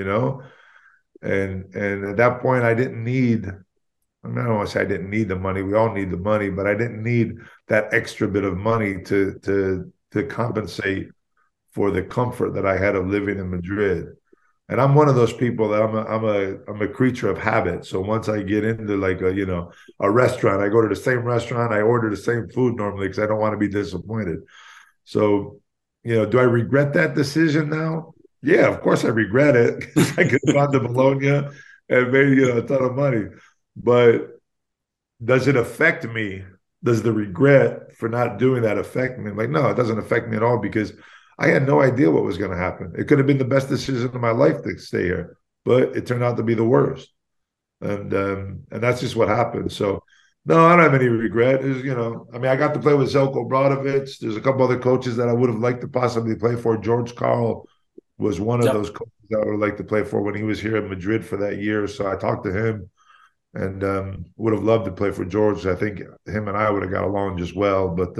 and at that point I didn't need. I don't want to say I didn't need the money. We all need the money, but I didn't need that extra bit of money to compensate for the comfort that I had of living in Madrid. And I'm one of those people that I'm a creature of habit. So once I get into like a restaurant, I go to the same restaurant, I order the same food normally because I don't want to be disappointed. So, do I regret that decision now? Yeah, of course I regret it because I could have gone to Bologna and made a ton of money. But does it affect me? Does the regret for not doing that affect me? Like, no, it doesn't affect me at all because I had no idea what was going to happen. It could have been the best decision of my life to stay here, but it turned out to be the worst. And that's just what happened. So, no, I don't have any regret. I got to play with Zelko Bradovic. There's a couple other coaches that I would have liked to possibly play for. George Karl was one of those coaches that I would like to play for when he was here in Madrid for that year. So I talked to him and would have loved to play for George. I think him and I would have got along just well. But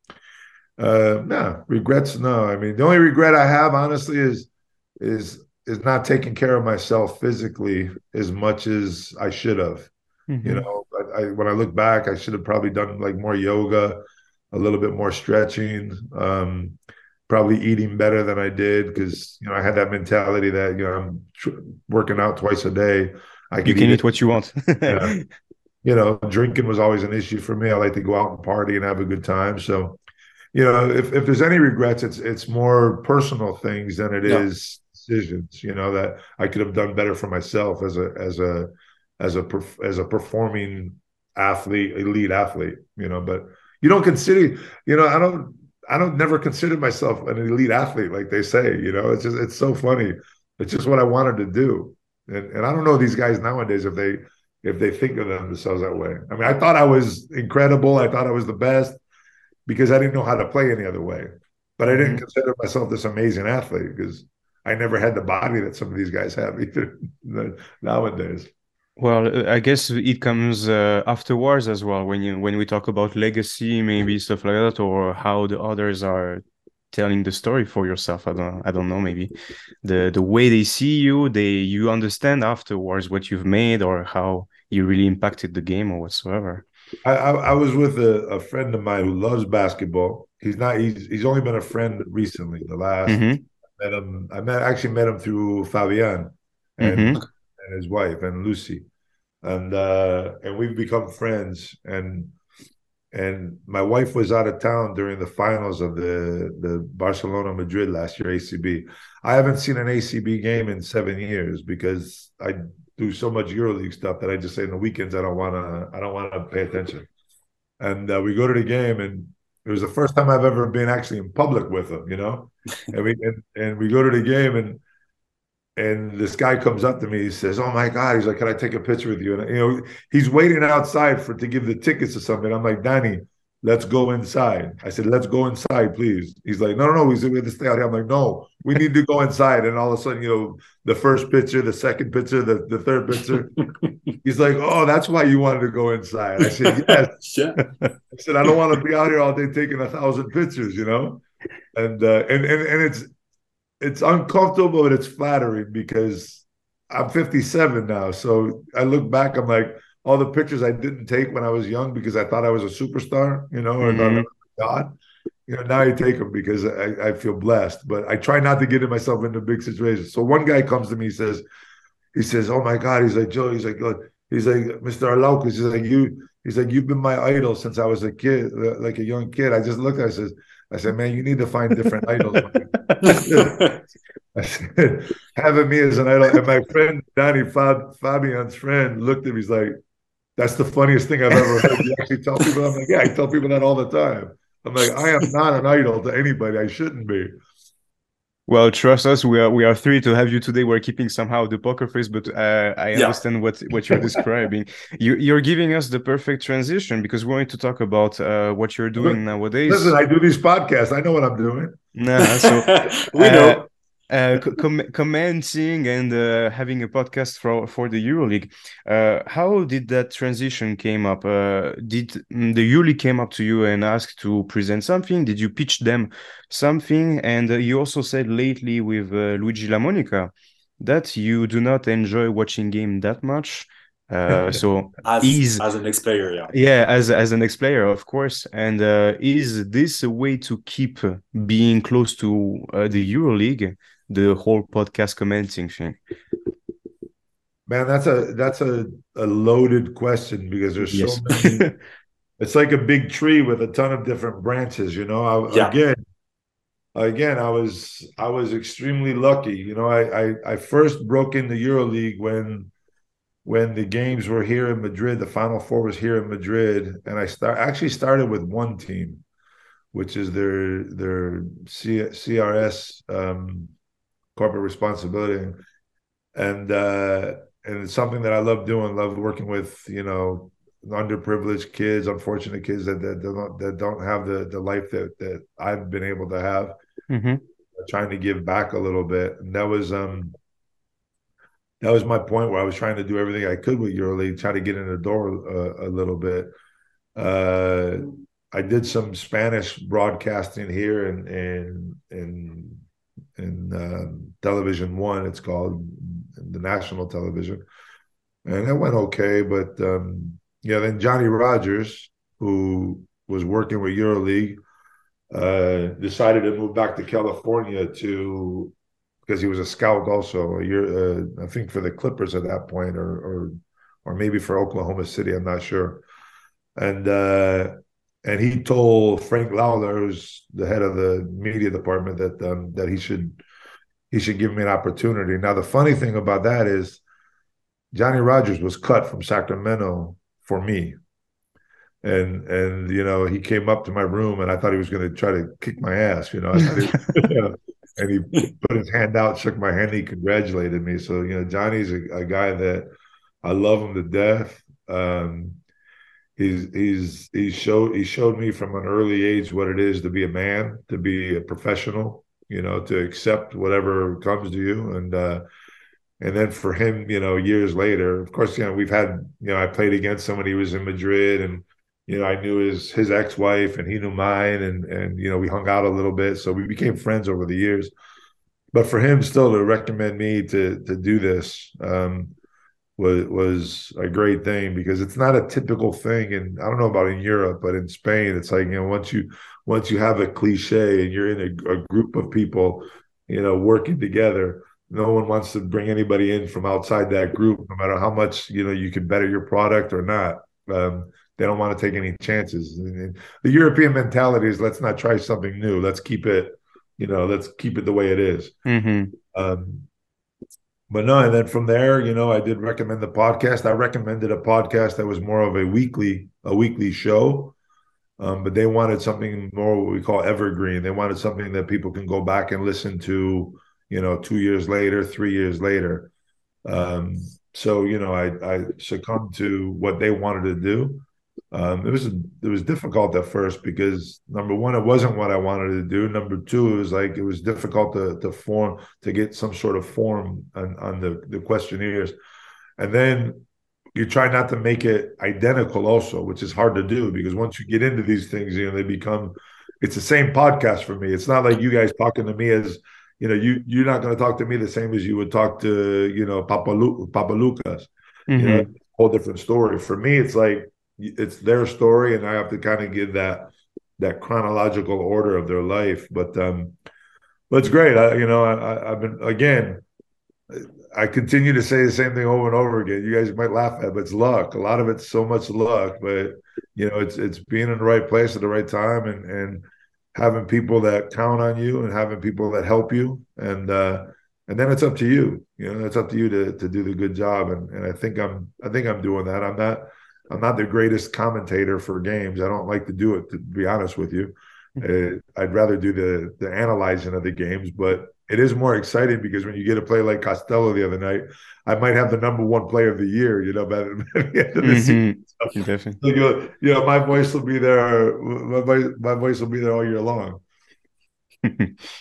no regrets. No, I mean the only regret I have, honestly, is not taking care of myself physically as much as I should have. Mm-hmm. When I look back, I should have probably done like more yoga, a little bit more stretching, probably eating better than I did because I had that mentality that I'm working out twice a day. You can eat what you want. Yeah. Drinking was always an issue for me. I like to go out and party and have a good time. So, if there's any regrets, it's more personal things than it is decisions. That I could have done better for myself as a performing athlete, elite athlete. But you don't consider. I don't never consider myself an elite athlete like they say. It's so funny. It's just what I wanted to do. And I don't know these guys nowadays if they think of themselves that way. I mean, I thought I was incredible. I thought I was the best because I didn't know how to play any other way. But I didn't consider myself this amazing athlete because I never had the body that some of these guys have either nowadays. Well, I guess it comes afterwards as well when we talk about legacy, maybe stuff like that, or how the others are telling the story for yourself. I don't know, maybe the way they see you, you understand afterwards what you've made or how you really impacted the game or whatsoever. I was with a friend of mine who loves basketball. He's only been a friend recently. I actually met him through Fabian and his wife and Lucy, and we've become friends. And my wife was out of town during the finals of the Barcelona Madrid last year, ACB. I haven't seen an ACB game in 7 years because I do so much EuroLeague stuff that I just say in the weekends I don't want to pay attention. And we go to the game, and it was the first time I've ever been actually in public with him, and we go to the game, and this guy comes up to me. He says, "Oh my God!" He's like, "Can I take a picture with you?" And he's waiting outside to give the tickets or something. I'm like, "Danny, let's go inside." I said, "Let's go inside, please." He's like, "No. We have to stay out here." I'm like, "No, we need to go inside." And all of a sudden, the first picture, the second picture, the third picture. He's like, "Oh, that's why you wanted to go inside." I said, "Yes." Yeah. I said, "I don't want to be out here all day taking 1,000 pictures, And it's uncomfortable, but it's flattering because I'm 57 now. So I look back, I'm like, all the pictures I didn't take when I was young because I thought I was a superstar, or thought I was God. Now I take them because I feel blessed. But I try not to get myself into big situations. So one guy comes to me, he says, "Oh my God," he's like, "Joe," he's like, "Mr. Arlaucus," he's like, "You've been my idol since I was a kid, like a young kid." I just looked at him, I said, "Man, you need to find different idols." I said, having me as an idol. And my friend, Danny, Fabian's friend, looked at me, he's like, "That's the funniest thing I've ever heard." You actually tell people? I'm like, "Yeah, I tell people that all the time." I'm like, "I am not an idol to anybody. I shouldn't be." Well, trust us, we are three to have you today. We're keeping somehow the poker face, but I understand what you're describing. You're giving us the perfect transition because we're going to talk about what you're doing nowadays. Listen, I do these podcasts. I know what I'm doing. Nah, so we know. commenting and having a podcast for the EuroLeague. How did that transition came up? Did the EuroLeague came up to you and asked to present something? Did you pitch them something? And you also said lately with Luigi LaMonica that you do not enjoy watching game that much. So as an ex-player, yeah. Yeah, as an ex-player, of course. And is this a way to keep being close to the EuroLeague, the whole podcast commenting thing? Man, that's a loaded question because there's Yes. so many. It's like a big tree with a ton of different branches, you know. Yeah. Again, I was extremely lucky. You know, I first broke in the EuroLeague when the games were here in Madrid. The Final Four was here in Madrid, and I actually started with one team, which is their CRS, corporate responsibility, and it's something that I love doing. Love working with, you know, underprivileged kids, unfortunate kids that don't have the life that I've been able to have. Mm-hmm. Trying to give back a little bit, and that was my point where I was trying to do everything I could with EuroLeague, try to get in the door a little bit. I did some Spanish broadcasting here in Television One, it's called, the national television, and that went okay. But yeah, then Johnny Rogers, who was working with EuroLeague, decided to move back to California because he was a scout also a year, I think for the Clippers at that point, or maybe for Oklahoma City, I'm not sure. And he told Frank Lawler, who's the head of the media department, that he should give me an opportunity. Now, the funny thing about that is Johnny Rogers was cut from Sacramento for me. And you know, he came up to my room and I thought he was going to try to kick my ass, you know. And he put his hand out, shook my hand, he congratulated me. So, you know, Johnny's a guy that I love him to death. He showed me from an early age what it is to be a man, to be a professional, you know, to accept whatever comes to you. And then for him, you know, years later, of course, you know, we've had, you know, I played against him when he was in Madrid, and you know, I knew his ex-wife and he knew mine, and you know, we hung out a little bit, so we became friends over the years. But for him still to recommend me to do this was a great thing, because it's not a typical thing. And I don't know about in Europe, but in Spain, it's like, you know, once you have a cliche and you're in a group of people, you know, working together, no one wants to bring anybody in from outside that group, no matter how much, you know, you can better your product or not. They don't want to take any chances. And the European mentality is, let's not try something new. Let's keep it, you know, let's keep it the way it is. Mm-hmm. But no, and then from there, you know, I did recommend the podcast. I recommended a podcast that was more of a weekly show. But they wanted something more what we call evergreen. They wanted something that people can go back and listen to, you know, 2 years later, 3 years later. So, you know, I succumbed to what they wanted to do. It was difficult at first because, number one, it wasn't what I wanted to do. Number two, it was difficult to get some sort of form on the questionnaires. And then you try not to make it identical also, which is hard to do, because once you get into these things, you know, it's the same podcast for me. It's not like you guys talking to me as, you know, you're not going to talk to me the same as you would talk to, you know, Papa Lucas. Mm-hmm. You know, it's a whole different story. For me, it's like, it's their story, and I have to kind of give that chronological order of their life. But it's great. I've been, again, I continue to say the same thing over and over again. You guys might laugh at it, but it's luck. A lot of it's so much luck, but you know, it's being in the right place at the right time, and having people that count on you, and having people that help you, and then it's up to you. You know, it's up to you to do the good job, and I think I'm doing that. I'm not the greatest commentator for games. I don't like to do it, to be honest with you. I'd rather do the analyzing of the games, but it is more exciting because when you get a play like Costello the other night, I might have the #1 player of the year, you know, by the end of the season. So, Definitely. you know, my voice will be there. My voice will be there all year long.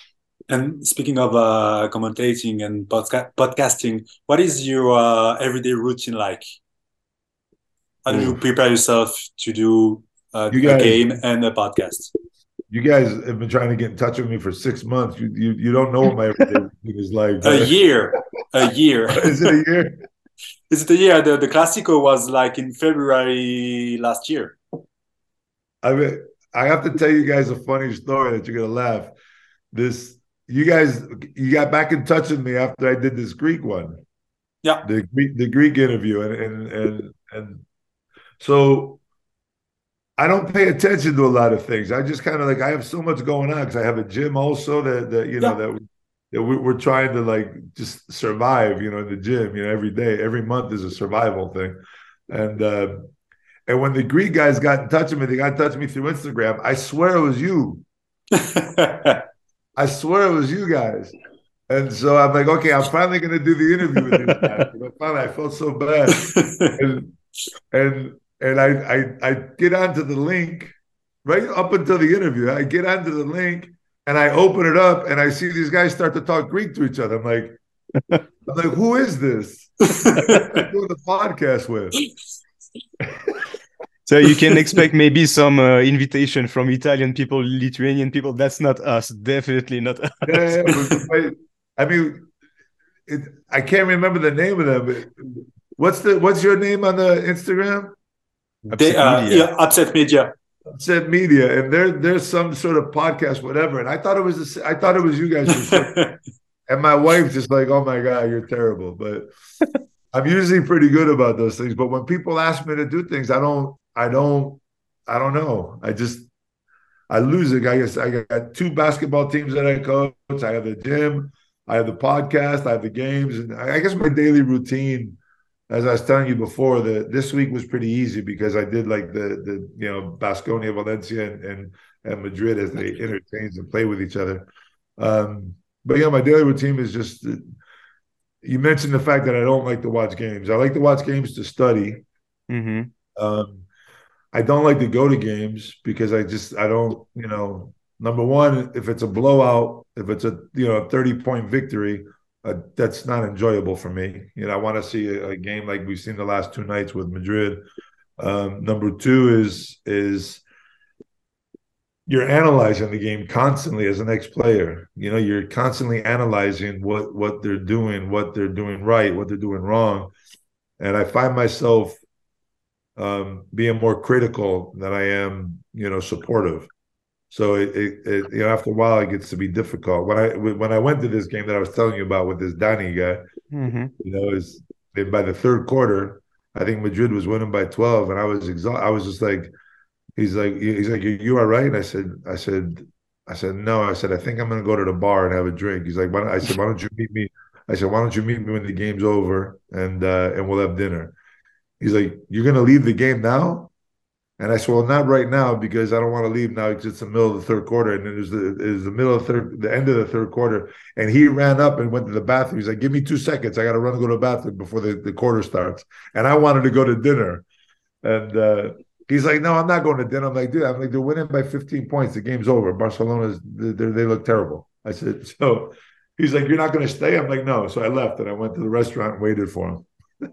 And speaking of commentating and podcasting, what is your everyday routine like? How do you Oof. prepare yourself to do You a guys, game and a podcast? you guys have been trying to get in touch with me for 6 months. You don't know what my everyday routine is like, A but year, a year. is it a year? Is it a year? The Classico was like in February last year. I mean, I have to tell you guys a funny story that you're gonna laugh. This, you guys, you got back in touch with me after I did this Greek one, Yeah. the Greek interview, and so I don't pay attention to a lot of things. I just kind of like I have so much going on because I have a gym also that you know Yeah. that we're trying to like just survive, you know, in the gym. You know, every day, every month is a survival thing, and uh, and when the Greek guys got in touch with me, they got in touch with me through Instagram. I swear it was you. I swear it was you guys. And so I'm like, okay, I'm finally going to do the interview with these guys. But finally, I felt so bad, and and I get onto the link right up until the interview. I get onto the link and I open it up and I see these guys start to talk Greek to each other. I'm like, who is this? I'm doing the podcast with. So you can expect maybe some invitation from Italian people, Lithuanian people. That's not us. Definitely not us. Yeah, I mean, I can't remember the name of them. But what's your name on the Instagram? They, Upset Media. yeah, Upset Media. Upset Media, and there's some sort of podcast, whatever. And I thought it was you guys for sure. And my wife's just like, "Oh my god, you're terrible." But I'm usually pretty good about those things. But when people ask me to do things, I don't know. I lose it. I guess I got two basketball teams that I coach. I have the gym, I have the podcast, I have the games, and I guess my daily routine, as I was telling you before, this week was pretty easy because I did like the you know Baskonia, Valencia, and Madrid as they interchange and play with each other. But yeah, my daily routine is just. You mentioned the fact that I don't like to watch games. I like to watch games to study. Mm-hmm. Um, I don't like to go to games because I don't, you know, number one, if it's a blowout, if it's a, you know, 30-point victory, that's not enjoyable for me. You know, I want to see a game like we've seen the last two nights with Madrid. Number two is you're analyzing the game constantly as an ex-player. You know, you're constantly analyzing what they're doing right, what they're doing wrong. And I find myself being more critical than I am, you know, supportive. So you know, after a while, it gets to be difficult. When I went to this game that I was telling you about with this Danny guy, Mm-hmm. you know, is by the third quarter, I think Madrid was winning by 12, and I was exhausted. I was just like, he's like, you are right. And I said, no. I said, I think I'm going to go to the bar and have a drink. He's like, I said, why don't you meet me? I said, why don't you meet me when the game's over and we'll have dinner. He's like, you're going to leave the game now? And I said, well, not right now because I don't want to leave now because it's the middle of the third quarter. And then it was the middle of the end of the third quarter. And he ran up and went to the bathroom. He's like, give me 2 seconds. I got to run and go to the bathroom before the quarter starts. And I wanted to go to dinner. And he's like, no, I'm not going to dinner. I'm like, dude, they're winning by 15 points. The game's over. They look terrible. I said, so he's like, you're not going to stay? I'm like, no. So I left and I went to the restaurant and waited for him.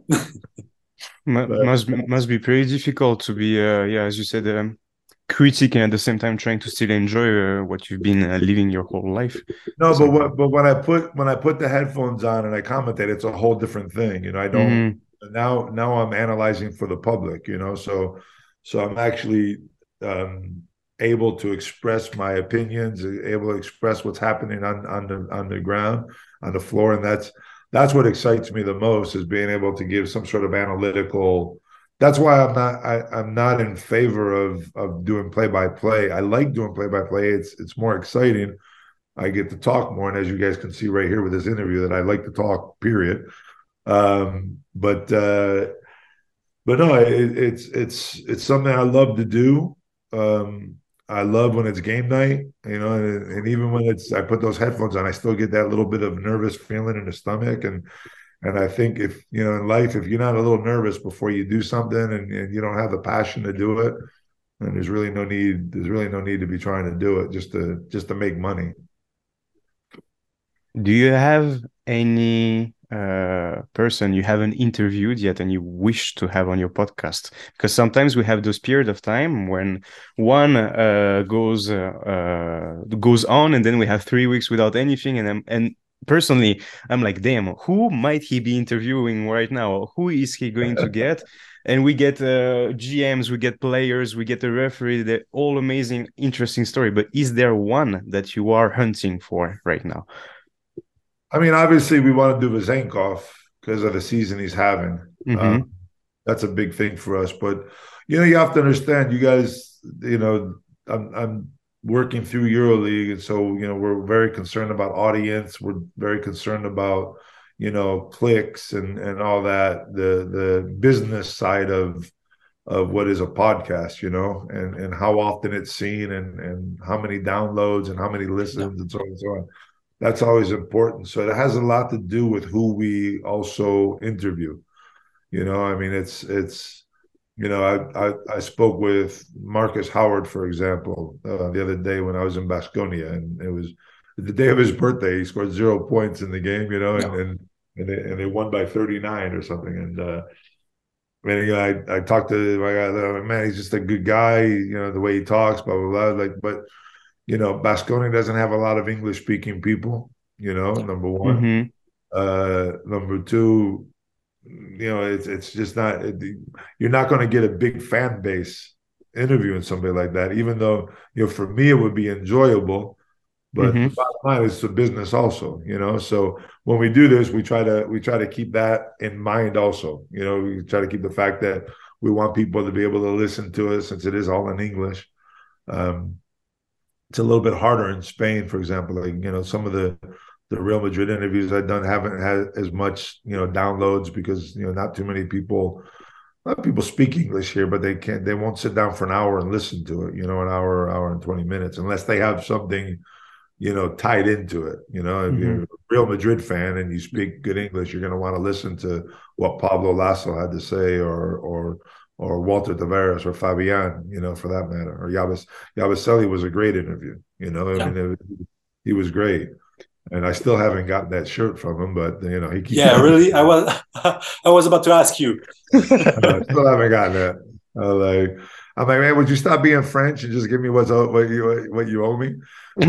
Must be pretty difficult to be, yeah, as you said, critic and at the same time trying to still enjoy what you've been living your whole life. No, So, but when I put the headphones on and I commentate, it's a whole different thing. You know, I don't mhm. now I'm analyzing for the public, you know, so I'm actually able to express my opinions, able to express what's happening on the ground, on the floor, and that's what excites me the most is being able to give some sort of analytical. That's why I'm not in favor of doing play by play. I like doing play by play. It's more exciting. I get to talk more, and as you guys can see right here with this interview, that I like to talk. Period. But no, it's something I love to do. I love when it's game night, you know, and even when I put those headphones on, I still get that little bit of nervous feeling in the stomach. And I think if, you know, in life, if you're not a little nervous before you do something and you don't have the passion to do it, then there's really no need to be trying to do it just to make money. Do you have any person you haven't interviewed yet and you wish to have on your podcast? Because sometimes we have those period of time when one goes on, and then we have 3 weeks without anything, and personally, I'm like, damn, who might he be interviewing right now? Who is he going to get? And we get GMs, we get players, we get a referee. They're all amazing, interesting story. But is there one that you are hunting for right now? I mean, obviously, we want to do Vezenkov because of the season he's having. Mm-hmm. That's a big thing for us. But you have to understand, you guys. I'm working through EuroLeague, and so we're very concerned about audience. We're very concerned about clicks and all that. The business side of what is a podcast, and how often it's seen and how many downloads and how many listens and so on and so on. That's always important. So it has a lot to do with who we also interview. I mean, it's I spoke with Marcus Howard, for example, the other day when I was in Baskonia, and it was the day of his birthday. He scored 0 points in the game, and they won by 39 or something. And I talked to my guy, man, he's just a good guy, the way he talks, blah blah blah. But Baskonia doesn't have a lot of English speaking people, number one. Mm-hmm. Number two, it's just not, you're not going to get a big fan base interviewing somebody like that, even though, for me, it would be enjoyable. But Mm-hmm. the bottom line is the business also, so when we do this, we try to keep that in mind also. We try to keep the fact that we want people to be able to listen to us since it is all in English. It's a little bit harder in Spain, for example. Like, some of the Real Madrid interviews I've done haven't had as much, downloads because, not too many people, a lot of people speak English here, but they won't sit down for an hour and listen to it, an hour and 20 minutes, unless they have something, tied into it. If you're a Real Madrid fan and you speak good English, you're going to want to listen to what Pablo Lasso had to say, or Walter Tavares or Fabian, for that matter, or Yabusele was a great interview. I mean, he was great. And I still haven't gotten that shirt from him, but he keeps. Yeah, really. I was about to ask you. I still haven't gotten that. I'm like, man, would you stop being French and just give me what you owe me?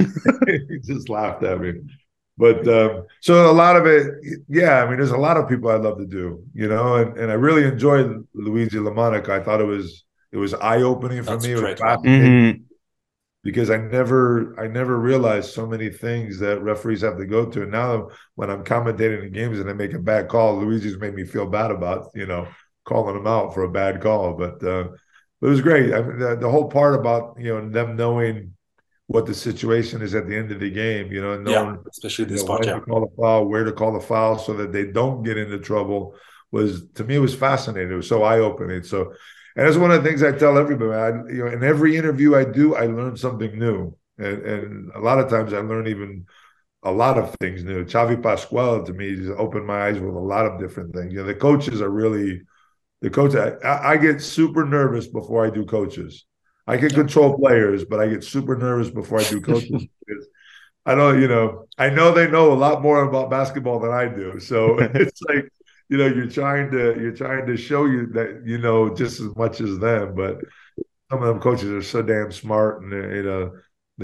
He just laughed at me. But so a lot of it, yeah. I mean, there's a lot of people I'd love to do, and I really enjoyed Luigi LaMonica. I thought it was eye opening for me. It was fascinating. Because I never realized so many things that referees have to go to. And now when I'm commentating in games and I make a bad call, Luigi's made me feel bad about, calling him out for a bad call. But it was great. I mean, the whole part about, them knowing what the situation is at the end of the game, knowing, especially this part, when to call the foul, where to call the foul so that they don't get into trouble to me, it was fascinating. It was so eye-opening. So, and that's one of the things I tell everybody. In every interview I do, I learn something new, and a lot of times I learn even a lot of things new. Xavi Pascual to me just opened my eyes with a lot of different things. The coaches are really the coach. I get super nervous before I do coaches. I can control players, but I get super nervous before I do coaches because I don't. I know they know a lot more about basketball than I do, so it's like. You're trying to show you that just as much as them, but some of them coaches are so damn smart, and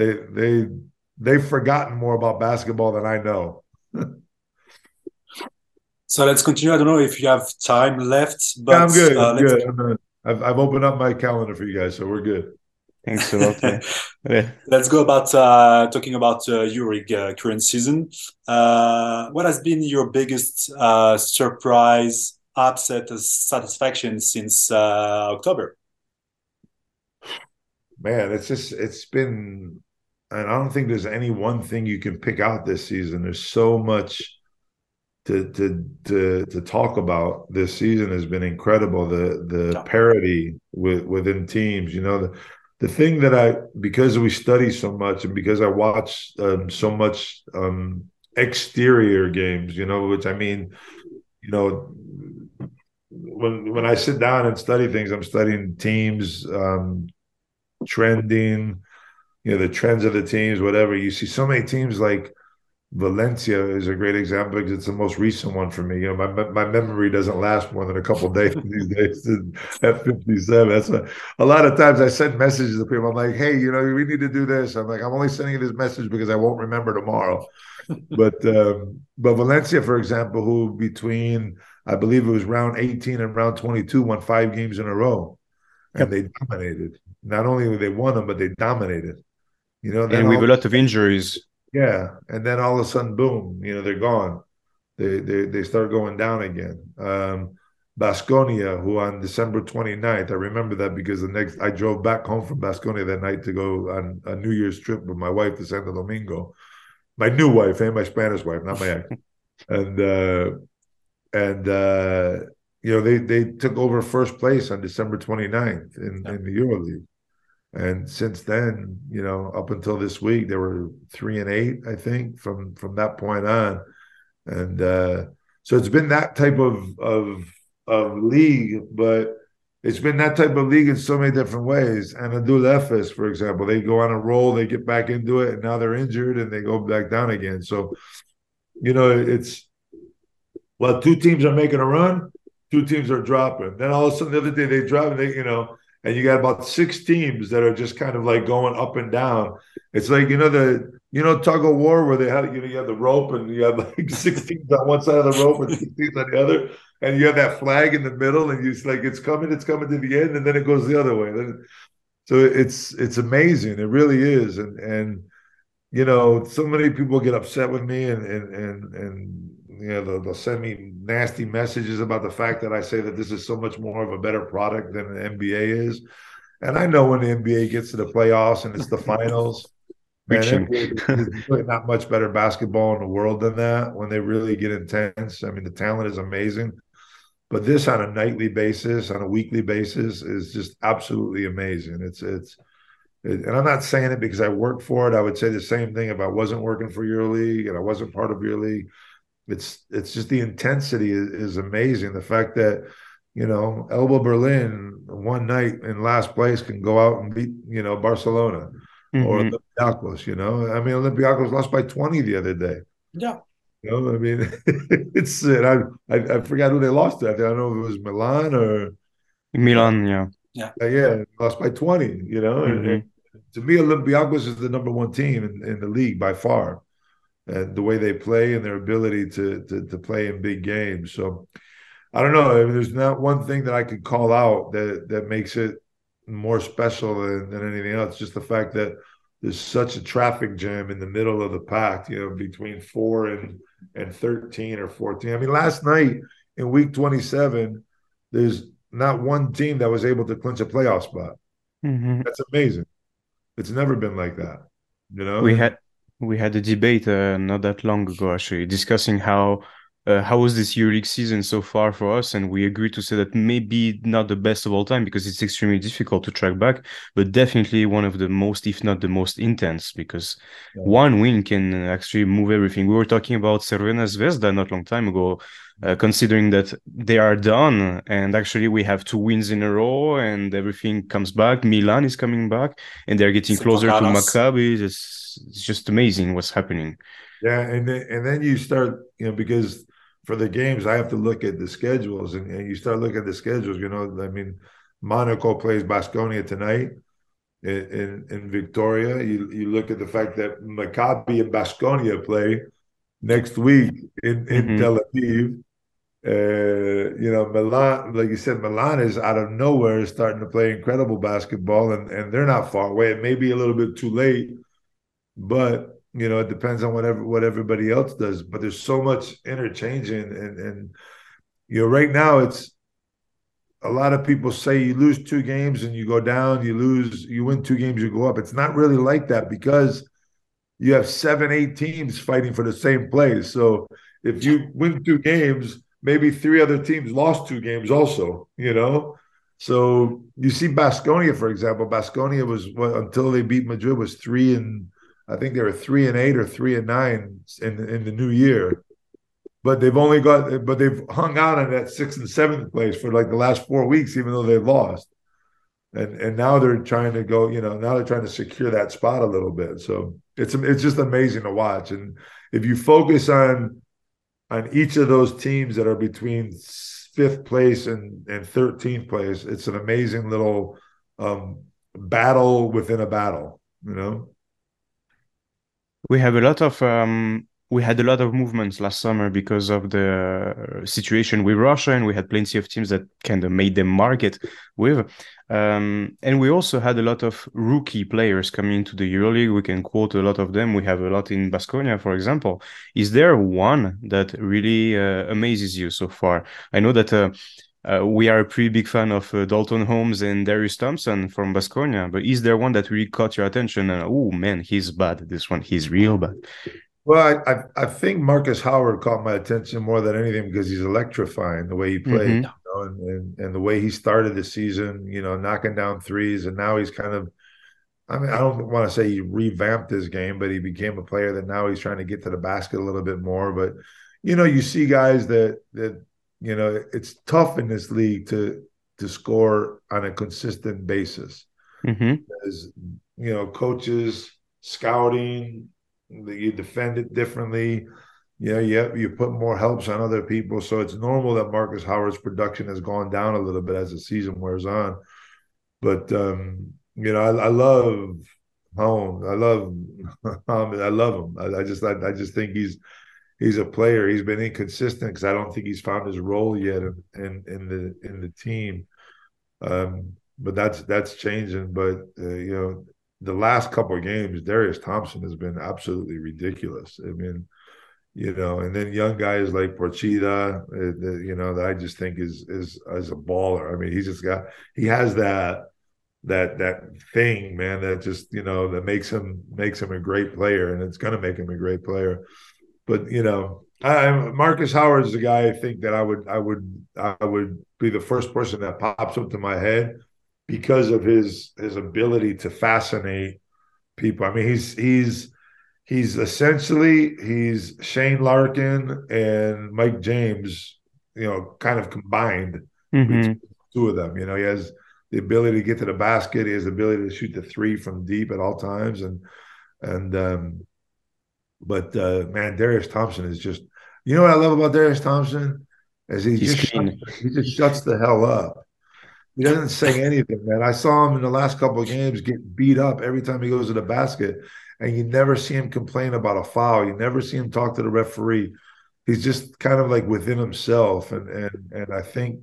they've forgotten more about basketball than I know. So let's continue. I don't know if you have time left, but yeah, I'm good. I'm good. I've opened up my calendar for you guys, so we're good. Thanks a lot. Yeah. Let's go about talking about EuroLeague current season. What has been your biggest surprise, upset, satisfaction since October? Man, it's been, and I don't think there's any one thing you can pick out this season. There's so much to talk about. This season has been incredible. The parity within teams. The thing that because we study so much and because I watch so much exterior games, which I mean, when I sit down and study things, I'm studying teams, trending, the trends of the teams, whatever. You see so many teams like Valencia is a great example because it's the most recent one for me. You know, my memory doesn't last more than a couple of days these days at 57. That's a lot of times I send messages to people. I'm like, hey, you know, we need to do this. I'm like, I'm only sending you this message because I won't remember tomorrow. But Valencia, for example, who between I believe it was round 18 and round 22 won 5 games in a row, and Yep. they dominated. Not only they won them, but they dominated. You know, then And with a all lot of injuries. yeah, and then all of a sudden, boom, you know, they're gone. They start going down again. Baskonia, who on December 29th, I remember that because the next I drove back home from Baskonia that night to go on a New Year's trip with my wife to Santo Domingo. My new wife and my Spanish wife, not my ex. And you know, they took over first place on December 29th in the EuroLeague. And since then, you know, up until this week, they were 3-8, I think, from that point on. And so it's been that type of league, but it's been that type of league in so many different ways. And Adul Efes, for example, they go on a roll, they get back into it, and now they're injured and they go back down again. So, you know, it's well, two teams are making a run, two teams are dropping. Then all of a sudden the other day they drop and they, you know, and you got about 6 teams that are just kind of like going up and down. It's like, you know, tug of war where they have, you know, you have the rope and you have like 6 teams on one side of the rope and 6 teams on the other, and you have that flag in the middle, and it's like it's coming to the end, and then it goes the other way. So it's amazing. It really is. And you know, so many people get upset with me and you know, they'll send me nasty messages about the fact that I say that this is so much more of a better product than the NBA is. And I know when the NBA gets to the playoffs and it's the finals, man, Reaching. there's really not much better basketball in the world than that when they really get intense. I mean, the talent is amazing. But this on a nightly basis, on a weekly basis, is just absolutely amazing. And I'm not saying it because I work for it. I would say the same thing if I wasn't working for your league and I wasn't part of your league. It's just the intensity is amazing. The fact that, you know, Elba Berlin one night in last place can go out and beat, you know, Barcelona or Mhm. Olympiacos, you know. I mean, Olympiacos lost by 20 the other day. Yeah. You know, I mean, it's I forgot who they lost to. I don't know if it was Milan or Milan, yeah. Yeah. yeah, lost by 20, you know. And Hmm. to me, Olympiacos is the number one team in the league by far. And the way they play and their ability to play in big games. So I don't know. I mean, there's not one thing that I could call out that makes it more special than anything else. Just the fact that there's such a traffic jam in the middle of the pack, you know, between 4 and 13 or 14. I mean, last night in week 27, there's not one team that was able to clinch a playoff spot. Hmm. That's amazing. It's never been like that, you know? We And had we had a debate not that long ago actually discussing how was this EuroLeague season so far for us, and we agreed to say that maybe not the best of all time because it's extremely difficult to track back, but definitely one of the most, if not the most intense, because one win can actually move everything. We were talking about Cervena Zvezda not long time ago, considering that they are done, and actually we have 2 wins in a row, and everything comes back. Milan is coming back, and they're getting closer to Setokanas. Maccabi. It's just amazing what's happening. yeah, and then you start, you know, because for the games I have to look at the schedules, and you start looking at the schedules. You know, I mean, Monaco plays Baskonia tonight in Victoria. You look at the fact that Maccabi and Baskonia play next week in Hmm. Tel Aviv. You know, Milan, like you said, Milan is out of nowhere starting to play incredible basketball, and they're not far away. It may be a little bit too late, but you know, it depends on what everybody else does. But there's so much interchanging, and you know, right now it's a lot of people say you lose 2 games and you go down, you win 2 games, you go up. It's not really like that because you have 7, 8 teams fighting for the same place. So if you win 2 games, maybe 3 other teams lost 2 games also, you know? So you see Baskonia, for example. Baskonia was until they beat Madrid was I think they were 3-8 or 3-9 in the new year. But they've hung out in that 6th and 7th place for like the last 4 weeks, even though they've lost. and now they're trying to go, now they're trying to secure that spot a little bit. So it's just amazing to watch. And if you focus on each of those teams that are between fifth place and 13th place, it's an amazing little battle within a battle, We have a lot of we had a lot of movements last summer because of the situation with Russia, and we had plenty of teams that kind of made them market with. And we also had a lot of rookie players coming into the EuroLeague. We can quote a lot of them. We have a lot in Baskonia, for example. Is there one that really amazes you so far? I know that we are a pretty big fan of Dalton Holmes and Darius Thompson from Baskonia, but is there one that really caught your attention? And oh man, he's bad. This one, he's real bad. Well, I think Marcus Howard caught my attention more than anything because he's electrifying the way he plays, and the way he started the season, knocking down threes, and now he's kind of, I mean, I don't want to say he revamped his game, but he became a player that now he's trying to get to the basket a little bit more. But you see guys that it's tough in this league to score on a consistent basis. As coaches, scouting, you defend it differently. You put more helps on other people. So it's normal that Marcus Howard's production has gone down a little bit as the season wears on. But I love Holmes. I love him. I just think he's a player. He's been inconsistent because I don't think he's found his role yet in the team. But that's changing. But the last couple of games, Darius Thompson has been absolutely ridiculous. I mean, and then young guys like Porchida, that I just think is a baller. I mean, he has that thing, man, that just that makes him a great player, and it's gonna make him a great player. But Marcus Howard is the guy I think that I would be the first person that pops up to my head because of his ability to fascinate people. I mean, he's essentially Shane Larkin and Mike James, kind of combined between the two of them. He has the ability to get to the basket. He has the ability to shoot the three from deep at all times. But Darius Thompson is just, what I love about Darius Thompson is he just shuts the hell up. He doesn't say anything, man. I saw him in the last couple of games get beat up every time he goes to the basket, and you never see him complain about a foul. You never see him talk to the referee. He's just kind of like within himself, and I think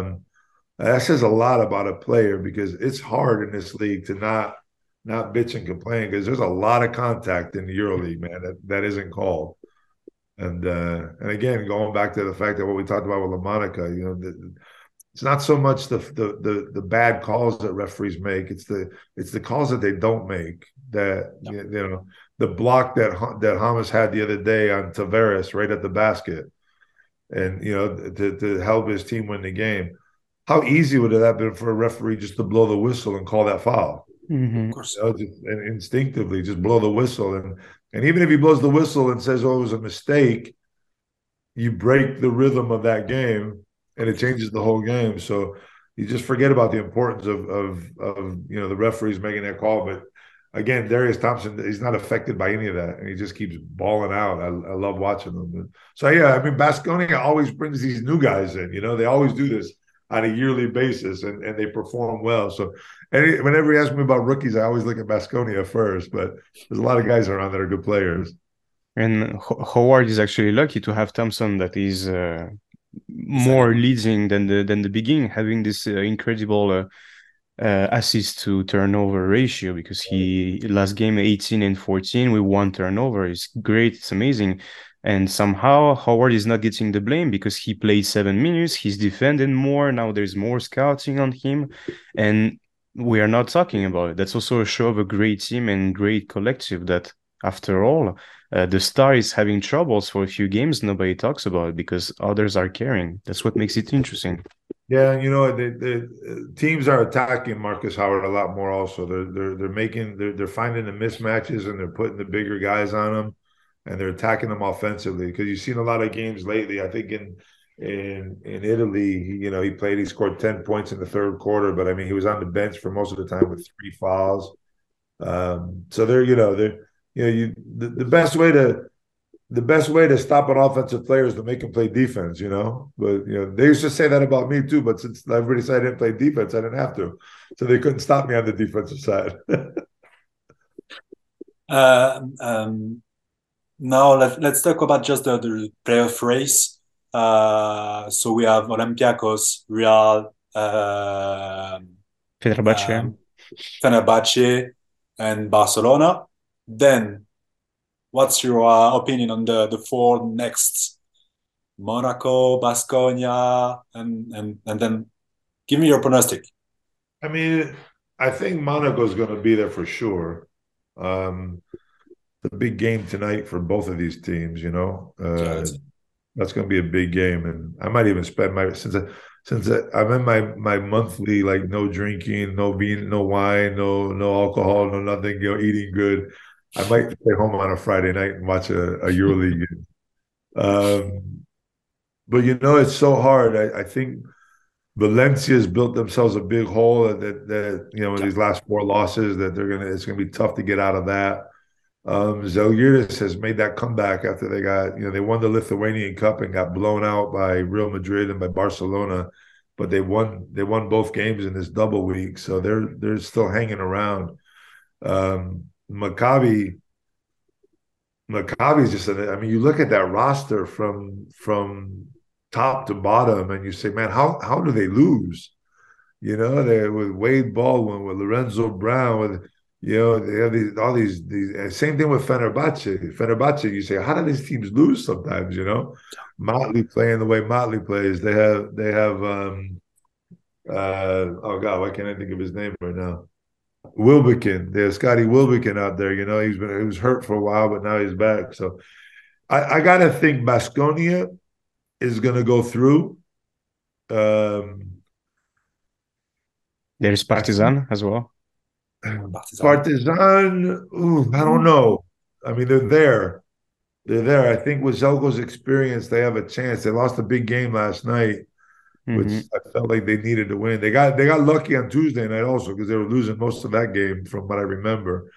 that says a lot about a player because it's hard in this league to not bitch and complain because there's a lot of contact in the EuroLeague, man, that isn't called. And again, going back to the fact that what we talked about with LaMonica, it's not so much the bad calls that referees make. It's the calls that they don't make. That the block that Hamas had the other day on Tavares right at the basket, and to help his team win the game. How easy would it have been for a referee just to blow the whistle and call that foul? Of course, just instinctively just blow the whistle, and even if he blows the whistle and says, "Oh, it was a mistake," you break the rhythm of that game. And it changes the whole game. So you just forget about the importance of the referees making that call. But again, Darius Thompson, he's not affected by any of that, and he just keeps balling out. I love watching them. So yeah, I mean, Baskonia always brings these new guys in. They always do this on a yearly basis, and they perform well. So whenever you ask me about rookies, I always look at Baskonia first. But there's a lot of guys around that are good players. And Howard is actually lucky to have Thompson that is more leading than the beginning, having this incredible assist to turnover ratio, because he last game 18 and 14 with 1 turnover is great. It's amazing. And somehow Howard is not getting the blame because he played 7 minutes. He's defending more. Now there's more scouting on him, and we are not talking about it. That's also a show of a great team and great collective that, after all, the star is having troubles for a few games. Nobody talks about it because others are caring. That's what makes it interesting. Yeah, the teams are attacking Marcus Howard a lot more. Also, they're finding the mismatches and they're putting the bigger guys on him, and they're attacking them offensively. Because you've seen a lot of games lately. I think in Italy, he played. He scored 10 points in the third quarter, but I mean, he was on the bench for most of the time with 3 fouls. So the best way to stop an offensive player is to make him play defense. But they used to say that about me too. But since everybody said I didn't play defense, I didn't have to, so they couldn't stop me on the defensive side. Now let's talk about just the playoff race. So we have Olympiacos, Real, Fenerbahce. Fenerbahce, and Barcelona. Then, what's your opinion on the four next? Monaco, Baskonia, and then give me your pronostic. I mean, I think Monaco's going to be there for sure. The big game tonight for both of these teams, that's going to be a big game, and I might even spend since I'm in my monthly no drinking, no bean, no wine, no alcohol, no nothing, eating good. I might stay home on a Friday night and watch a EuroLeague game. But it's so hard. I think Valencia's built themselves a big hole that in these last 4 losses that it's gonna be tough to get out of that. Zalgiris has made that comeback after they won the Lithuanian Cup and got blown out by Real Madrid and by Barcelona, but they won both games in this double week, so they're still hanging around. Maccabi's just you look at that roster from top to bottom and you say, man, how do they lose? They with Wade Baldwin, with Lorenzo Brown, with they have all these same thing with Fenerbahce. Fenerbahce, you say, how do these teams lose sometimes? Motley playing the way Motley plays. They have oh God, why can't I think of his name right now? Wilbekin. There's Scotty Wilbekin out there. He was hurt for a while, but now he's back. So I gotta think Baskonia is gonna go through. There's Partizan as well. Partizan, I don't know. I mean, they're there. They're there. I think with Zelko's experience, they have a chance. They lost a big game last night, which I felt like they needed to win. They got lucky on Tuesday night also because they were losing most of that game from what I remember.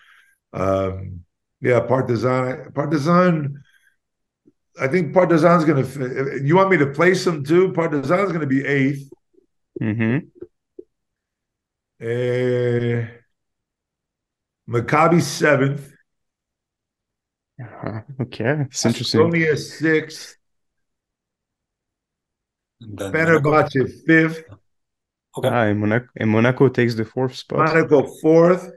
Partizan. I think Partizan's going to. You want me to place them too? Partizan's going to be 8th. Maccabi 7th. Okay, it's interesting. Baskonia 6th. Fenerbahce 5th. Okay. And Monaco takes the 4th spot. Monaco 4th.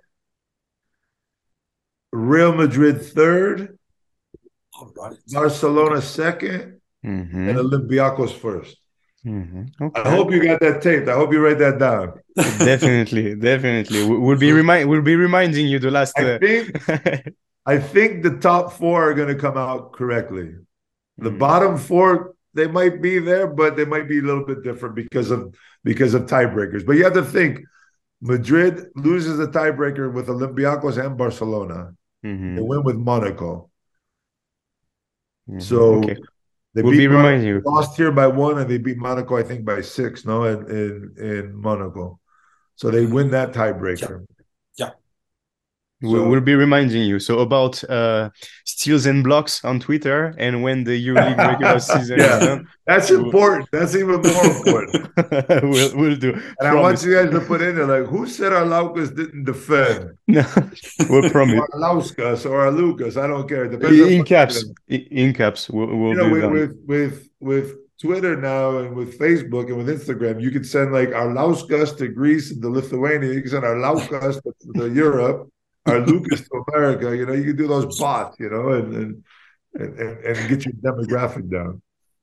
Real Madrid 3rd. All right. Barcelona 2nd. And Olympiacos 1st. Okay. I hope you got that taped. I hope you write that down. Definitely. We'll be reminding you the last. I think the top 4 are going to come out correctly. The bottom 4, they might be there, but they might be a little bit different because of tiebreakers. But you have to think, Madrid loses a tiebreaker with Olympiacos and Barcelona. They win with Monaco. So. Okay. We'll be reminding you. Lost here by 1, and they beat Monaco, I think, by 6. No, in Monaco, so they win that tiebreaker. Yeah. We'll be reminding you. So about steals and blocks on Twitter, and when the EuroLeague regular season is done. That's important. That's even more important. we'll do. And I want you guys to put in there, who said Arlaucas didn't defend? No, we'll promise. Or Arlauskas or Arlukas, I don't care. In caps. We'll do with Twitter now and with Facebook and with Instagram, you can send Arlauskas to Greece and to Lithuania. You can send Arlaukas to Europe. Arlukas to America. You can do those bots. And get your demographic down.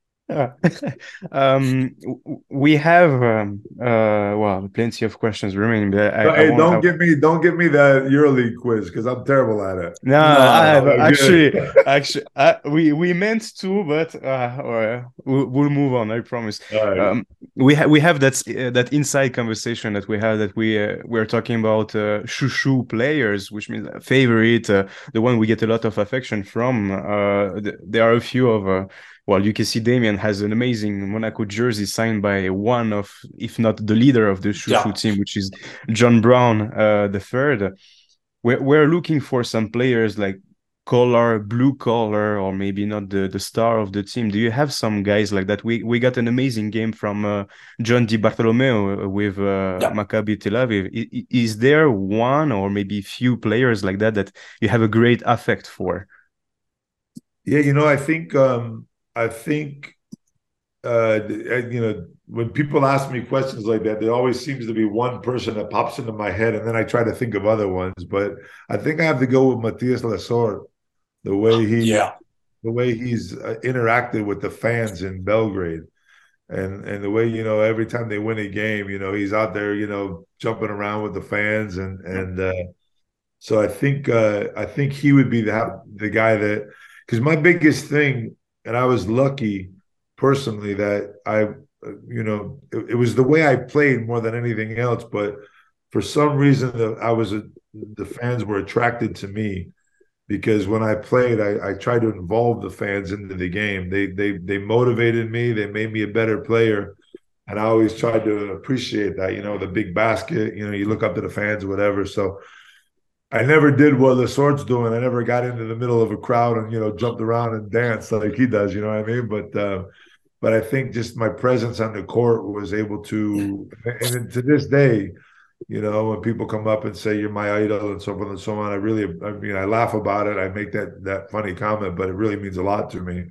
We have plenty of questions remaining. But don't give me that EuroLeague quiz because I'm terrible at it. Actually, we meant to, but we'll move on. I promise. Right. We have that inside conversation that we had that we're talking about shushu players, which means favorite, the one we get a lot of affection from. There are a few of well, you can see Damien has an amazing Monaco jersey signed by one of, if not the leader of the Chouchou team, which is John Brown the third. We're looking for some players like blue collar, or maybe not the star of the team. Do you have some guys like that? We got an amazing game from John Di Bartolomeo with Maccabi Tel Aviv. Is there one or maybe few players like that you have a great affect for? Yeah, I think when people ask me questions like that, there always seems to be one person that pops into my head, and then I try to think of other ones. But I think I have to go with Matías Lesort, the way he's interacted with the fans in Belgrade, and the way every time they win a game, he's out there, jumping around with the fans, and so I think he would be the guy that, because my biggest thing, and I was lucky personally that it was the way I played more than anything else. But for some reason, the fans were attracted to me, because when I played, I tried to involve the fans into the game. They motivated me. They made me a better player, and I always tried to appreciate that. The big basket. You look up to the fans or whatever. So I never did what Lesort's doing. I never got into the middle of a crowd and jumped around and danced like he does. You know what I mean? But I think just my presence on the court was able to, and to this day, when people come up and say you're my idol and so forth and so on, I laugh about it. I make that funny comment, but it really means a lot to me.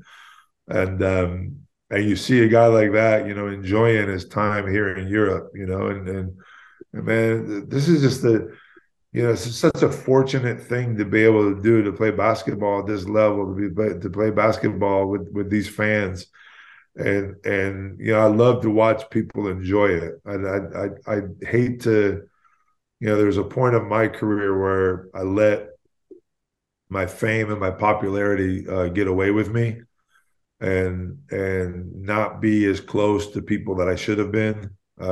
And you see a guy like that, enjoying his time here in Europe, and man, this is just it's such a fortunate thing to be able to do, to play basketball at this level, to play basketball with these fans. And I love to watch people enjoy it. I hate to, there's a point of my career where I let my fame and my popularity get away with me, and not be as close to people that I should have been.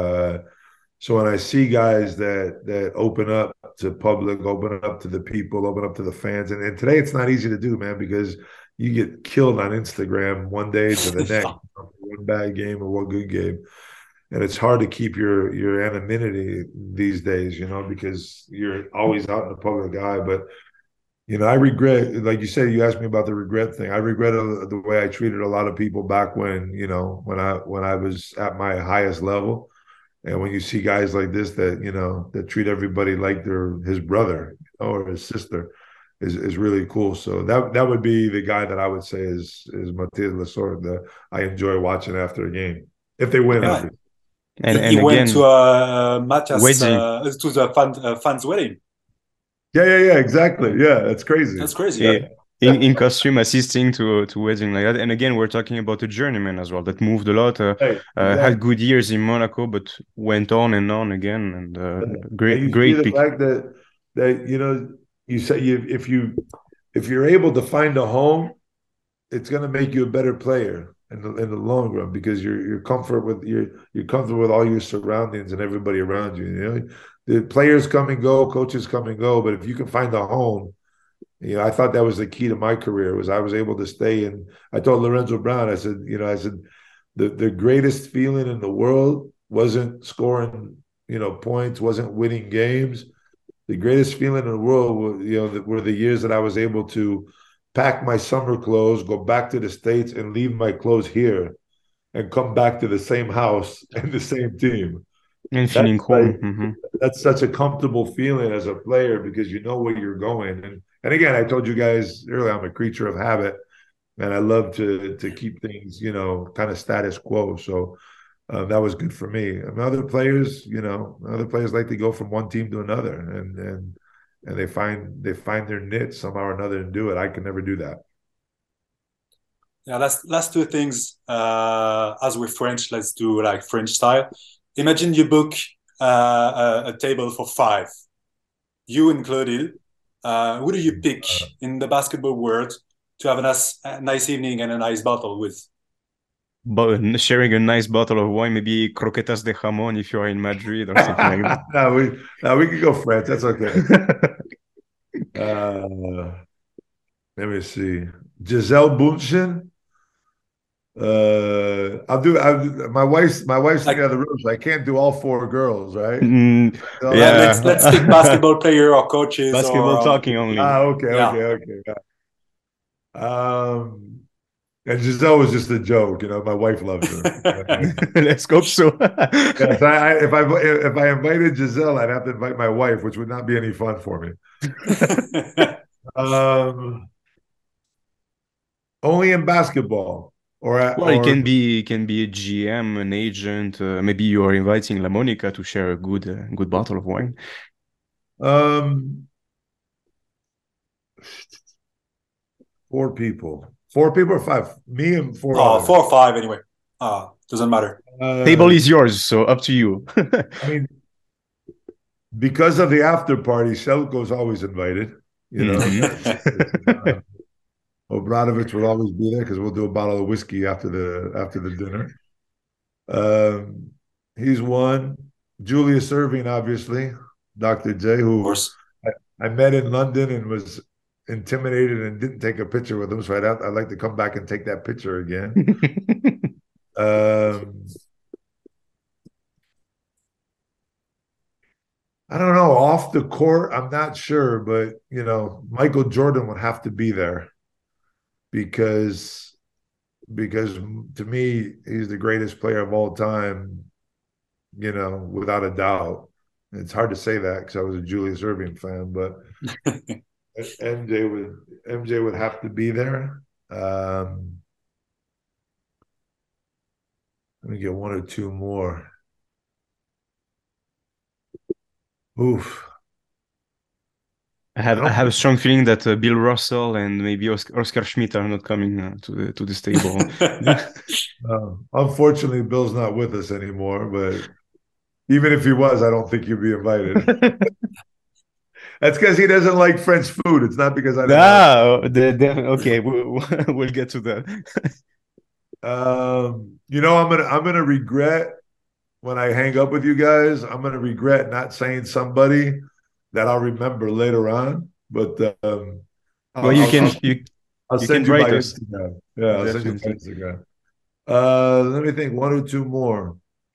So when I see guys that open up to public, open up to the people, open up to the fans, and today it's not easy to do, man, because you get killed on Instagram one day to the next, one bad game or one good game. And it's hard to keep your anonymity these days, because you're always out in the public eye. But, I regret, like you said, you asked me about the regret thing. I regret the way I treated a lot of people back when, when I was at my highest level. And when you see guys like this that treat everybody like they're his brother or his sister, is really cool. So that would be the guy that I would say is Matías Lesort that I enjoy watching after a game, if they win. Yeah. And he again, went to Matías to the fans' wedding. Yeah, exactly. Yeah, that's crazy. That's crazy. Yeah. In costume, assisting to wedding like that. And again, we're talking about a journeyman as well that moved a lot, had good years in Monaco, but went on and on again. And great the pick. fact that you say if you're able to find a home, it's going to make you a better player in the long run, because you're comfortable with all your surroundings and everybody around you. The players come and go, coaches come and go, but if you can find a home, I thought that was the key to my career, was I was able to stay. And I told Lorenzo Brown, I said, the greatest feeling in the world wasn't scoring, points, wasn't winning games. The greatest feeling in the world, were the years that I was able to pack my summer clothes, go back to the States, and leave my clothes here, and come back to the same house and the same team. And feeling home. That's such a comfortable feeling as a player, because you know where you're going. And again, I told you guys earlier, I'm a creature of habit, and I love to keep things, kind of status quo. So that was good for me. I mean, other players like to go from one team to another, and they find their niche somehow or another and do it. I can never do that. Yeah, last two things. As we're French, let's do like French style. Imagine you book a table for 5, you included. Who do you pick in the basketball world to have a nice evening and a nice bottle with? But sharing a nice bottle of wine, maybe croquetas de jamón if you're in Madrid or something like that. No, we can go French. That's okay. Let me see. Gisele Bündchen My wife's in the other room, so I can't do all four girls, right? So Yeah. Let's pick basketball player or coaches Basketball or talking only. okay. And Giselle was just a joke, my wife loves her. Let's hope so. Yeah, so if I invited Giselle, I'd have to invite my wife, which would not be any fun for me. Only in basketball, Well, it can be a GM, an agent. Maybe you are inviting La Monica to share a good bottle of wine. Four people or five. Me and four. Oh, 4 or 5 anyway. Doesn't matter. Table is yours, so up to you. I mean, because of the after party, Selko's always invited. Obradovic will always be there because we'll do a bottle of whiskey after the dinner. He's one. Julius Erving, obviously, Dr. J, who I met in London and was intimidated and didn't take a picture with him, so I'd like to come back and take that picture again. I don't know. Off the court, I'm not sure, but Michael Jordan would have to be there because to me, he's the greatest player of all time, without a doubt. It's hard to say that because I was a Julius Erving fan, but MJ would have to be there. Let me get one or two more. Oof. I have a strong feeling that Bill Russell and maybe Oscar Schmidt are not coming to this table. Unfortunately, Bill's not with us anymore, but even if he was, I don't think he'd be invited. That's because he doesn't like French food. It's not because I don't. Okay, we'll get to that. I'm gonna regret when I hang up with you guys. I'm gonna regret not saying somebody that I'll remember later on. But I'll send you my Instagram. Yeah, I'll send you my Instagram. Let me think. One or two more.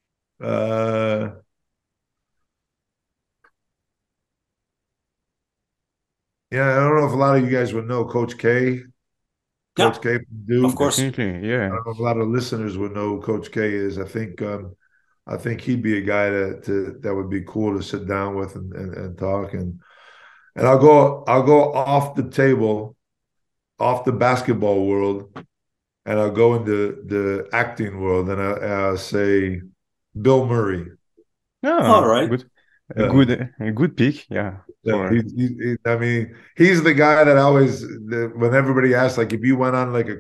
Yeah, I don't know if a lot of you guys would know Coach K. Coach K from Duke. Of course. Yeah. I don't know if a lot of listeners would know who Coach K is. I think he'd be a guy that would be cool to sit down with and talk. And I'll go off the table, off the basketball world, and I'll go into the acting world, and I'll say Bill Murray. Oh, all right. A good pick, yeah. I mean, he's the guy that always, when everybody asks, like, if you went on like a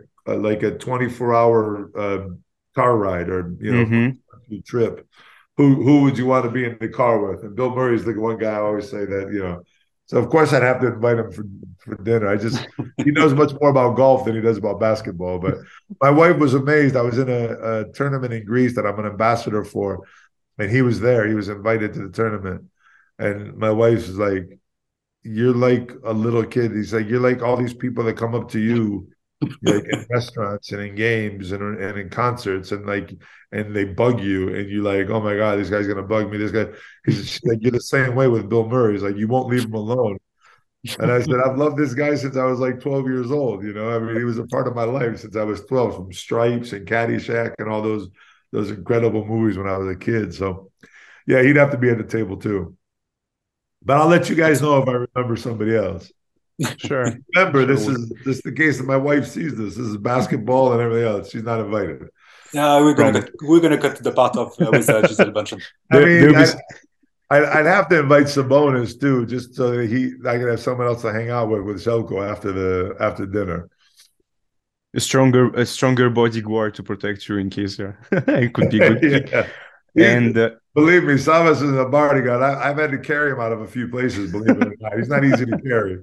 24-hour car ride or trip, who would you want to be in the car with? And Bill Murray's the one guy I always say that, So of course I'd have to invite him for dinner. He knows much more about golf than he does about basketball. But my wife was amazed. I was in a tournament in Greece that I'm an ambassador for, and he was there. He was invited to the tournament. And my wife was like, "You're like a little kid." He's like, "You're like all these people that come up to you, like in restaurants and in games and in concerts, and they bug you, and you're like, oh my God, this guy's gonna bug me. This guy." He's like, "You're the same way with Bill Murray." He's like, "You won't leave him alone." And I said, "I've loved this guy since I was like 12 years old. I mean, he was a part of my life since I was 12, from Stripes and Caddyshack and all those incredible movies when I was a kid." So, yeah, he'd have to be at the table too. But I'll let you guys know if I remember somebody else. Sure. Remember, this is the case that my wife sees this. This is basketball and everything else. She's not invited. Yeah, we're gonna cut to the part of with Gisele Bündchen. I mean, I'd have to invite Sabonis too, just so that I can have someone else to hang out with Selko after dinner. A stronger bodyguard to protect you in case it could be good. Yeah. And believe me, Savas is a bodyguard. I've had to carry him out of a few places. Believe it or not, he's not easy to carry.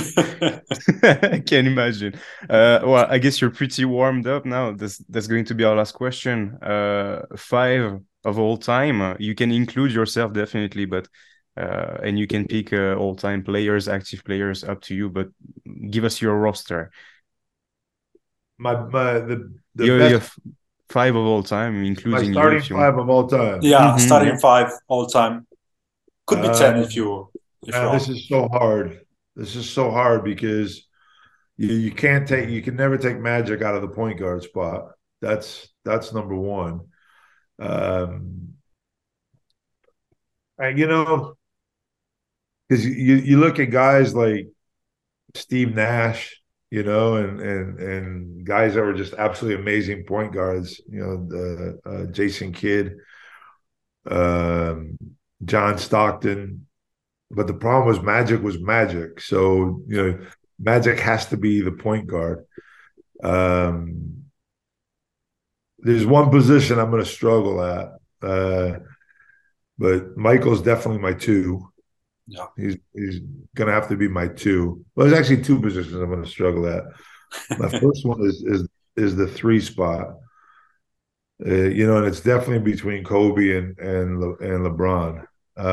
I can imagine. Well, I guess you're pretty warmed up now. That's going to be our last question. 5 of all time. You can include yourself definitely, but and you can pick all-time players, active players, up to you. But give us your roster. The the best. have 5 of all time, My including you, starting if you want. 5 of all time. Yeah, starting Yeah. 5 all time. Could be 10 if you Man, want. this is so hard. This is so hard because you can never take Magic out of the point guard spot. That's number one. And because you look at guys like Steve Nash, and guys that were just absolutely amazing point guards, the Jason Kidd, um, John Stockton. But the problem was Magic. So, Magic has to be the point guard. There's one position I'm going to struggle at, but Michael's definitely my 2. Yeah. He's going to have to be my 2. Well, there's actually 2 positions I'm going to struggle at. My first one is the 3 spot. And it's definitely between Kobe and LeBron.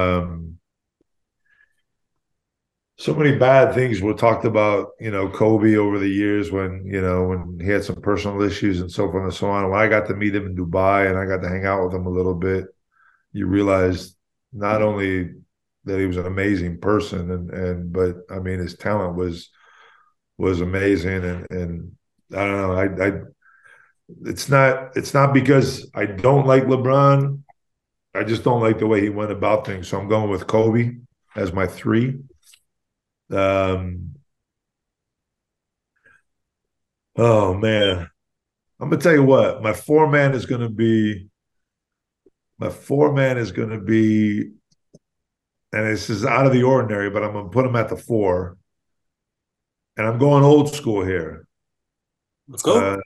So many bad things were talked about, Kobe over the years when he had some personal issues and so forth and so on. When I got to meet him in Dubai and I got to hang out with him a little bit, you realize not only that he was an amazing person but I mean his talent was amazing and I don't know, it's not because I don't like LeBron. I just don't like the way he went about things. So I'm going with Kobe as my 3. Oh man, I'm gonna tell you what, my 4-man is gonna be, and this is out of the ordinary, but I'm gonna put him at the 4, and I'm going old school here. Let's go.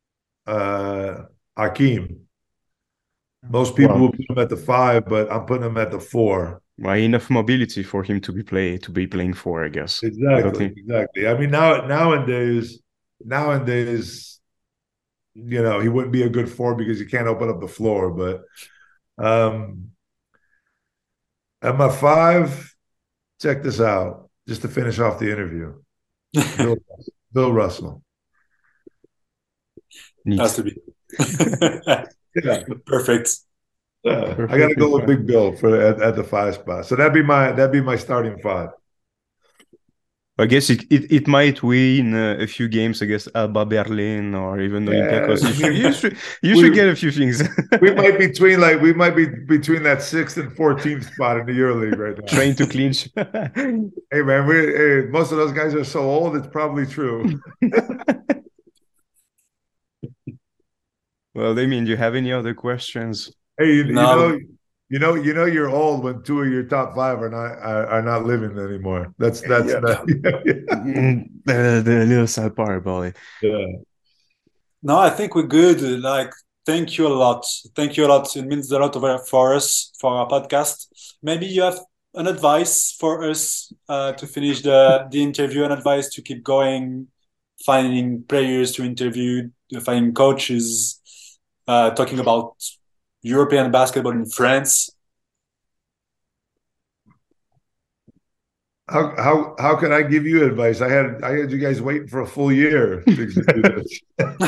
Hakeem. Most people will put him at the 5, but I'm putting him at the 4. Well, enough mobility for him to be playing 4, I guess. Exactly. I mean, nowadays, he wouldn't be a good 4 because you can't open up the floor. But at my 5, check this out, just to finish off the interview. Bill Russell. Has to be. Yeah. Perfect. I got to go with Big Bill at the 5 spot. So that'd be my starting 5. I guess it might win a few games against Alba Berlin or even Olympiacos. You should get a few things. we might be between that 6th and 14th spot in the EuroLeague right now. Trying to clinch. Hey man, most of those guys are so old. It's probably true. Well, Damien, do you have any other questions? Hey, you're old when 2 of your top 5 are not living anymore. That's the little sad part about it. Yeah. No, I think we're good. Like, thank you a lot. Thank you a lot. It means a lot for us, for our podcast. Maybe you have an advice for us to finish the interview, an advice to keep going, finding players to interview, finding coaches, talking about European basketball in France. How can I give you advice? I had you guys waiting for a full year to do this.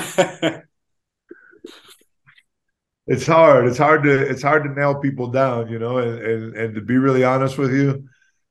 It's hard. It's hard to nail people down, and to be really honest with you,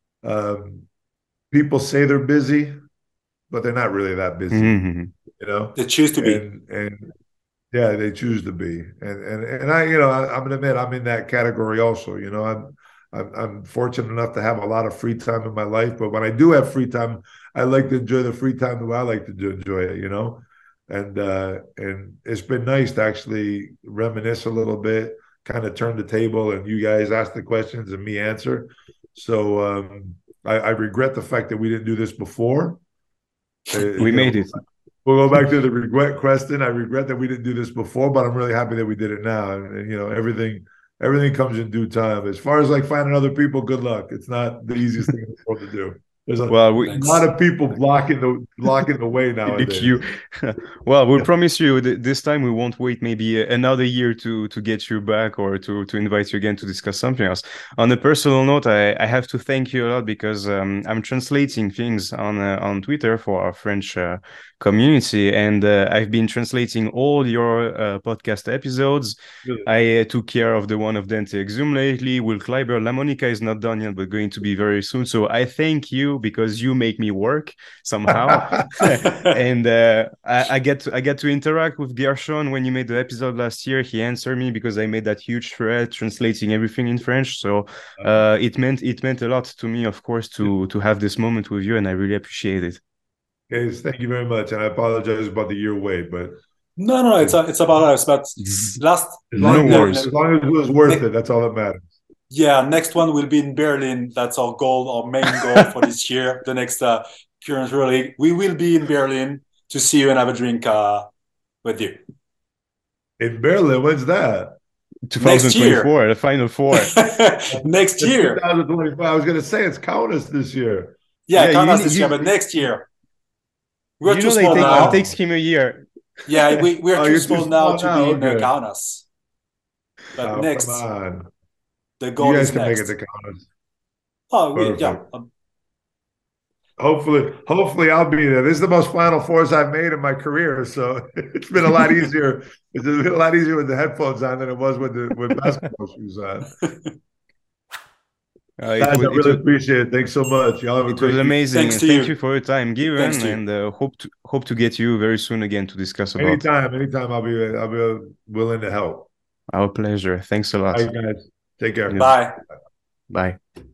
people say they're busy, but they're not really that busy. Mm-hmm. They choose to be. And yeah, they choose to be. And I, I'm gonna admit I'm in that category also. I'm fortunate enough to have a lot of free time in my life, but when I do have free time, I like to enjoy the free time the way I like to enjoy it, and it's been nice to actually reminisce a little bit, kind of turn the table, and you guys ask the questions and me answer. So I regret the fact that we didn't do this before. We made it. We'll go back to the regret question. I regret that we didn't do this before, but I'm really happy that we did it now. And everything comes in due time. As far as like finding other people, good luck. It's not the easiest thing in the world to do. There's a Thanks. lot of people blocking the way in the nowadays. queue. Well, we promise you this time we won't wait maybe another year to get you back or to invite you again to discuss something else. On a personal note, I have to thank you a lot because I'm translating things on Twitter for our French community, and I've been translating all your podcast episodes. Really? I took care of the one of Dante Exum lately. Will Kleiber, La Monica is not done yet, but going to be very soon. So I thank you because you make me work somehow. And I get to interact with Gershon when you made the episode last year. He answered me because I made that huge thread translating everything in French. So it meant a lot to me, of course, to have this moment with you, and I really appreciate it. Guys, thank you very much, and I apologize about the year wait, but No, it's about us. But last, No worries. as long as it was worth it, that's all that matters. yeah, next one will be in Berlin. That's our goal, our main goal for this year. The next Current League, we will be in Berlin to see you and have a drink with you. In Berlin, when's that? 2024, the Final Four. Next year. 2025. I was going to say it's Kaunas this year. Yeah, Yeah, Kaunas this year, but next year. We're You too know, small now. it takes him a year. Yeah, we're Oh, too you're small too now small to now, be in okay. Kaunas. But Oh, next, come on. the You goal guys is can next. make it to Kaunas. Oh, yeah. Perfect. Hopefully I'll be there. This is the most Final Fours I've made in my career, so it's been a lot easier. It's been a lot easier with the headphones on than it was with basketball shoes on. Guys, I really appreciate it. Thanks so much. Y'all have a great was amazing. Thanks to Thank you. you for your time given, and hope to get you very soon again to discuss about. Anytime I'll be willing to help. Our pleasure. Thanks a lot. All right, guys. Take care. Bye. Bye.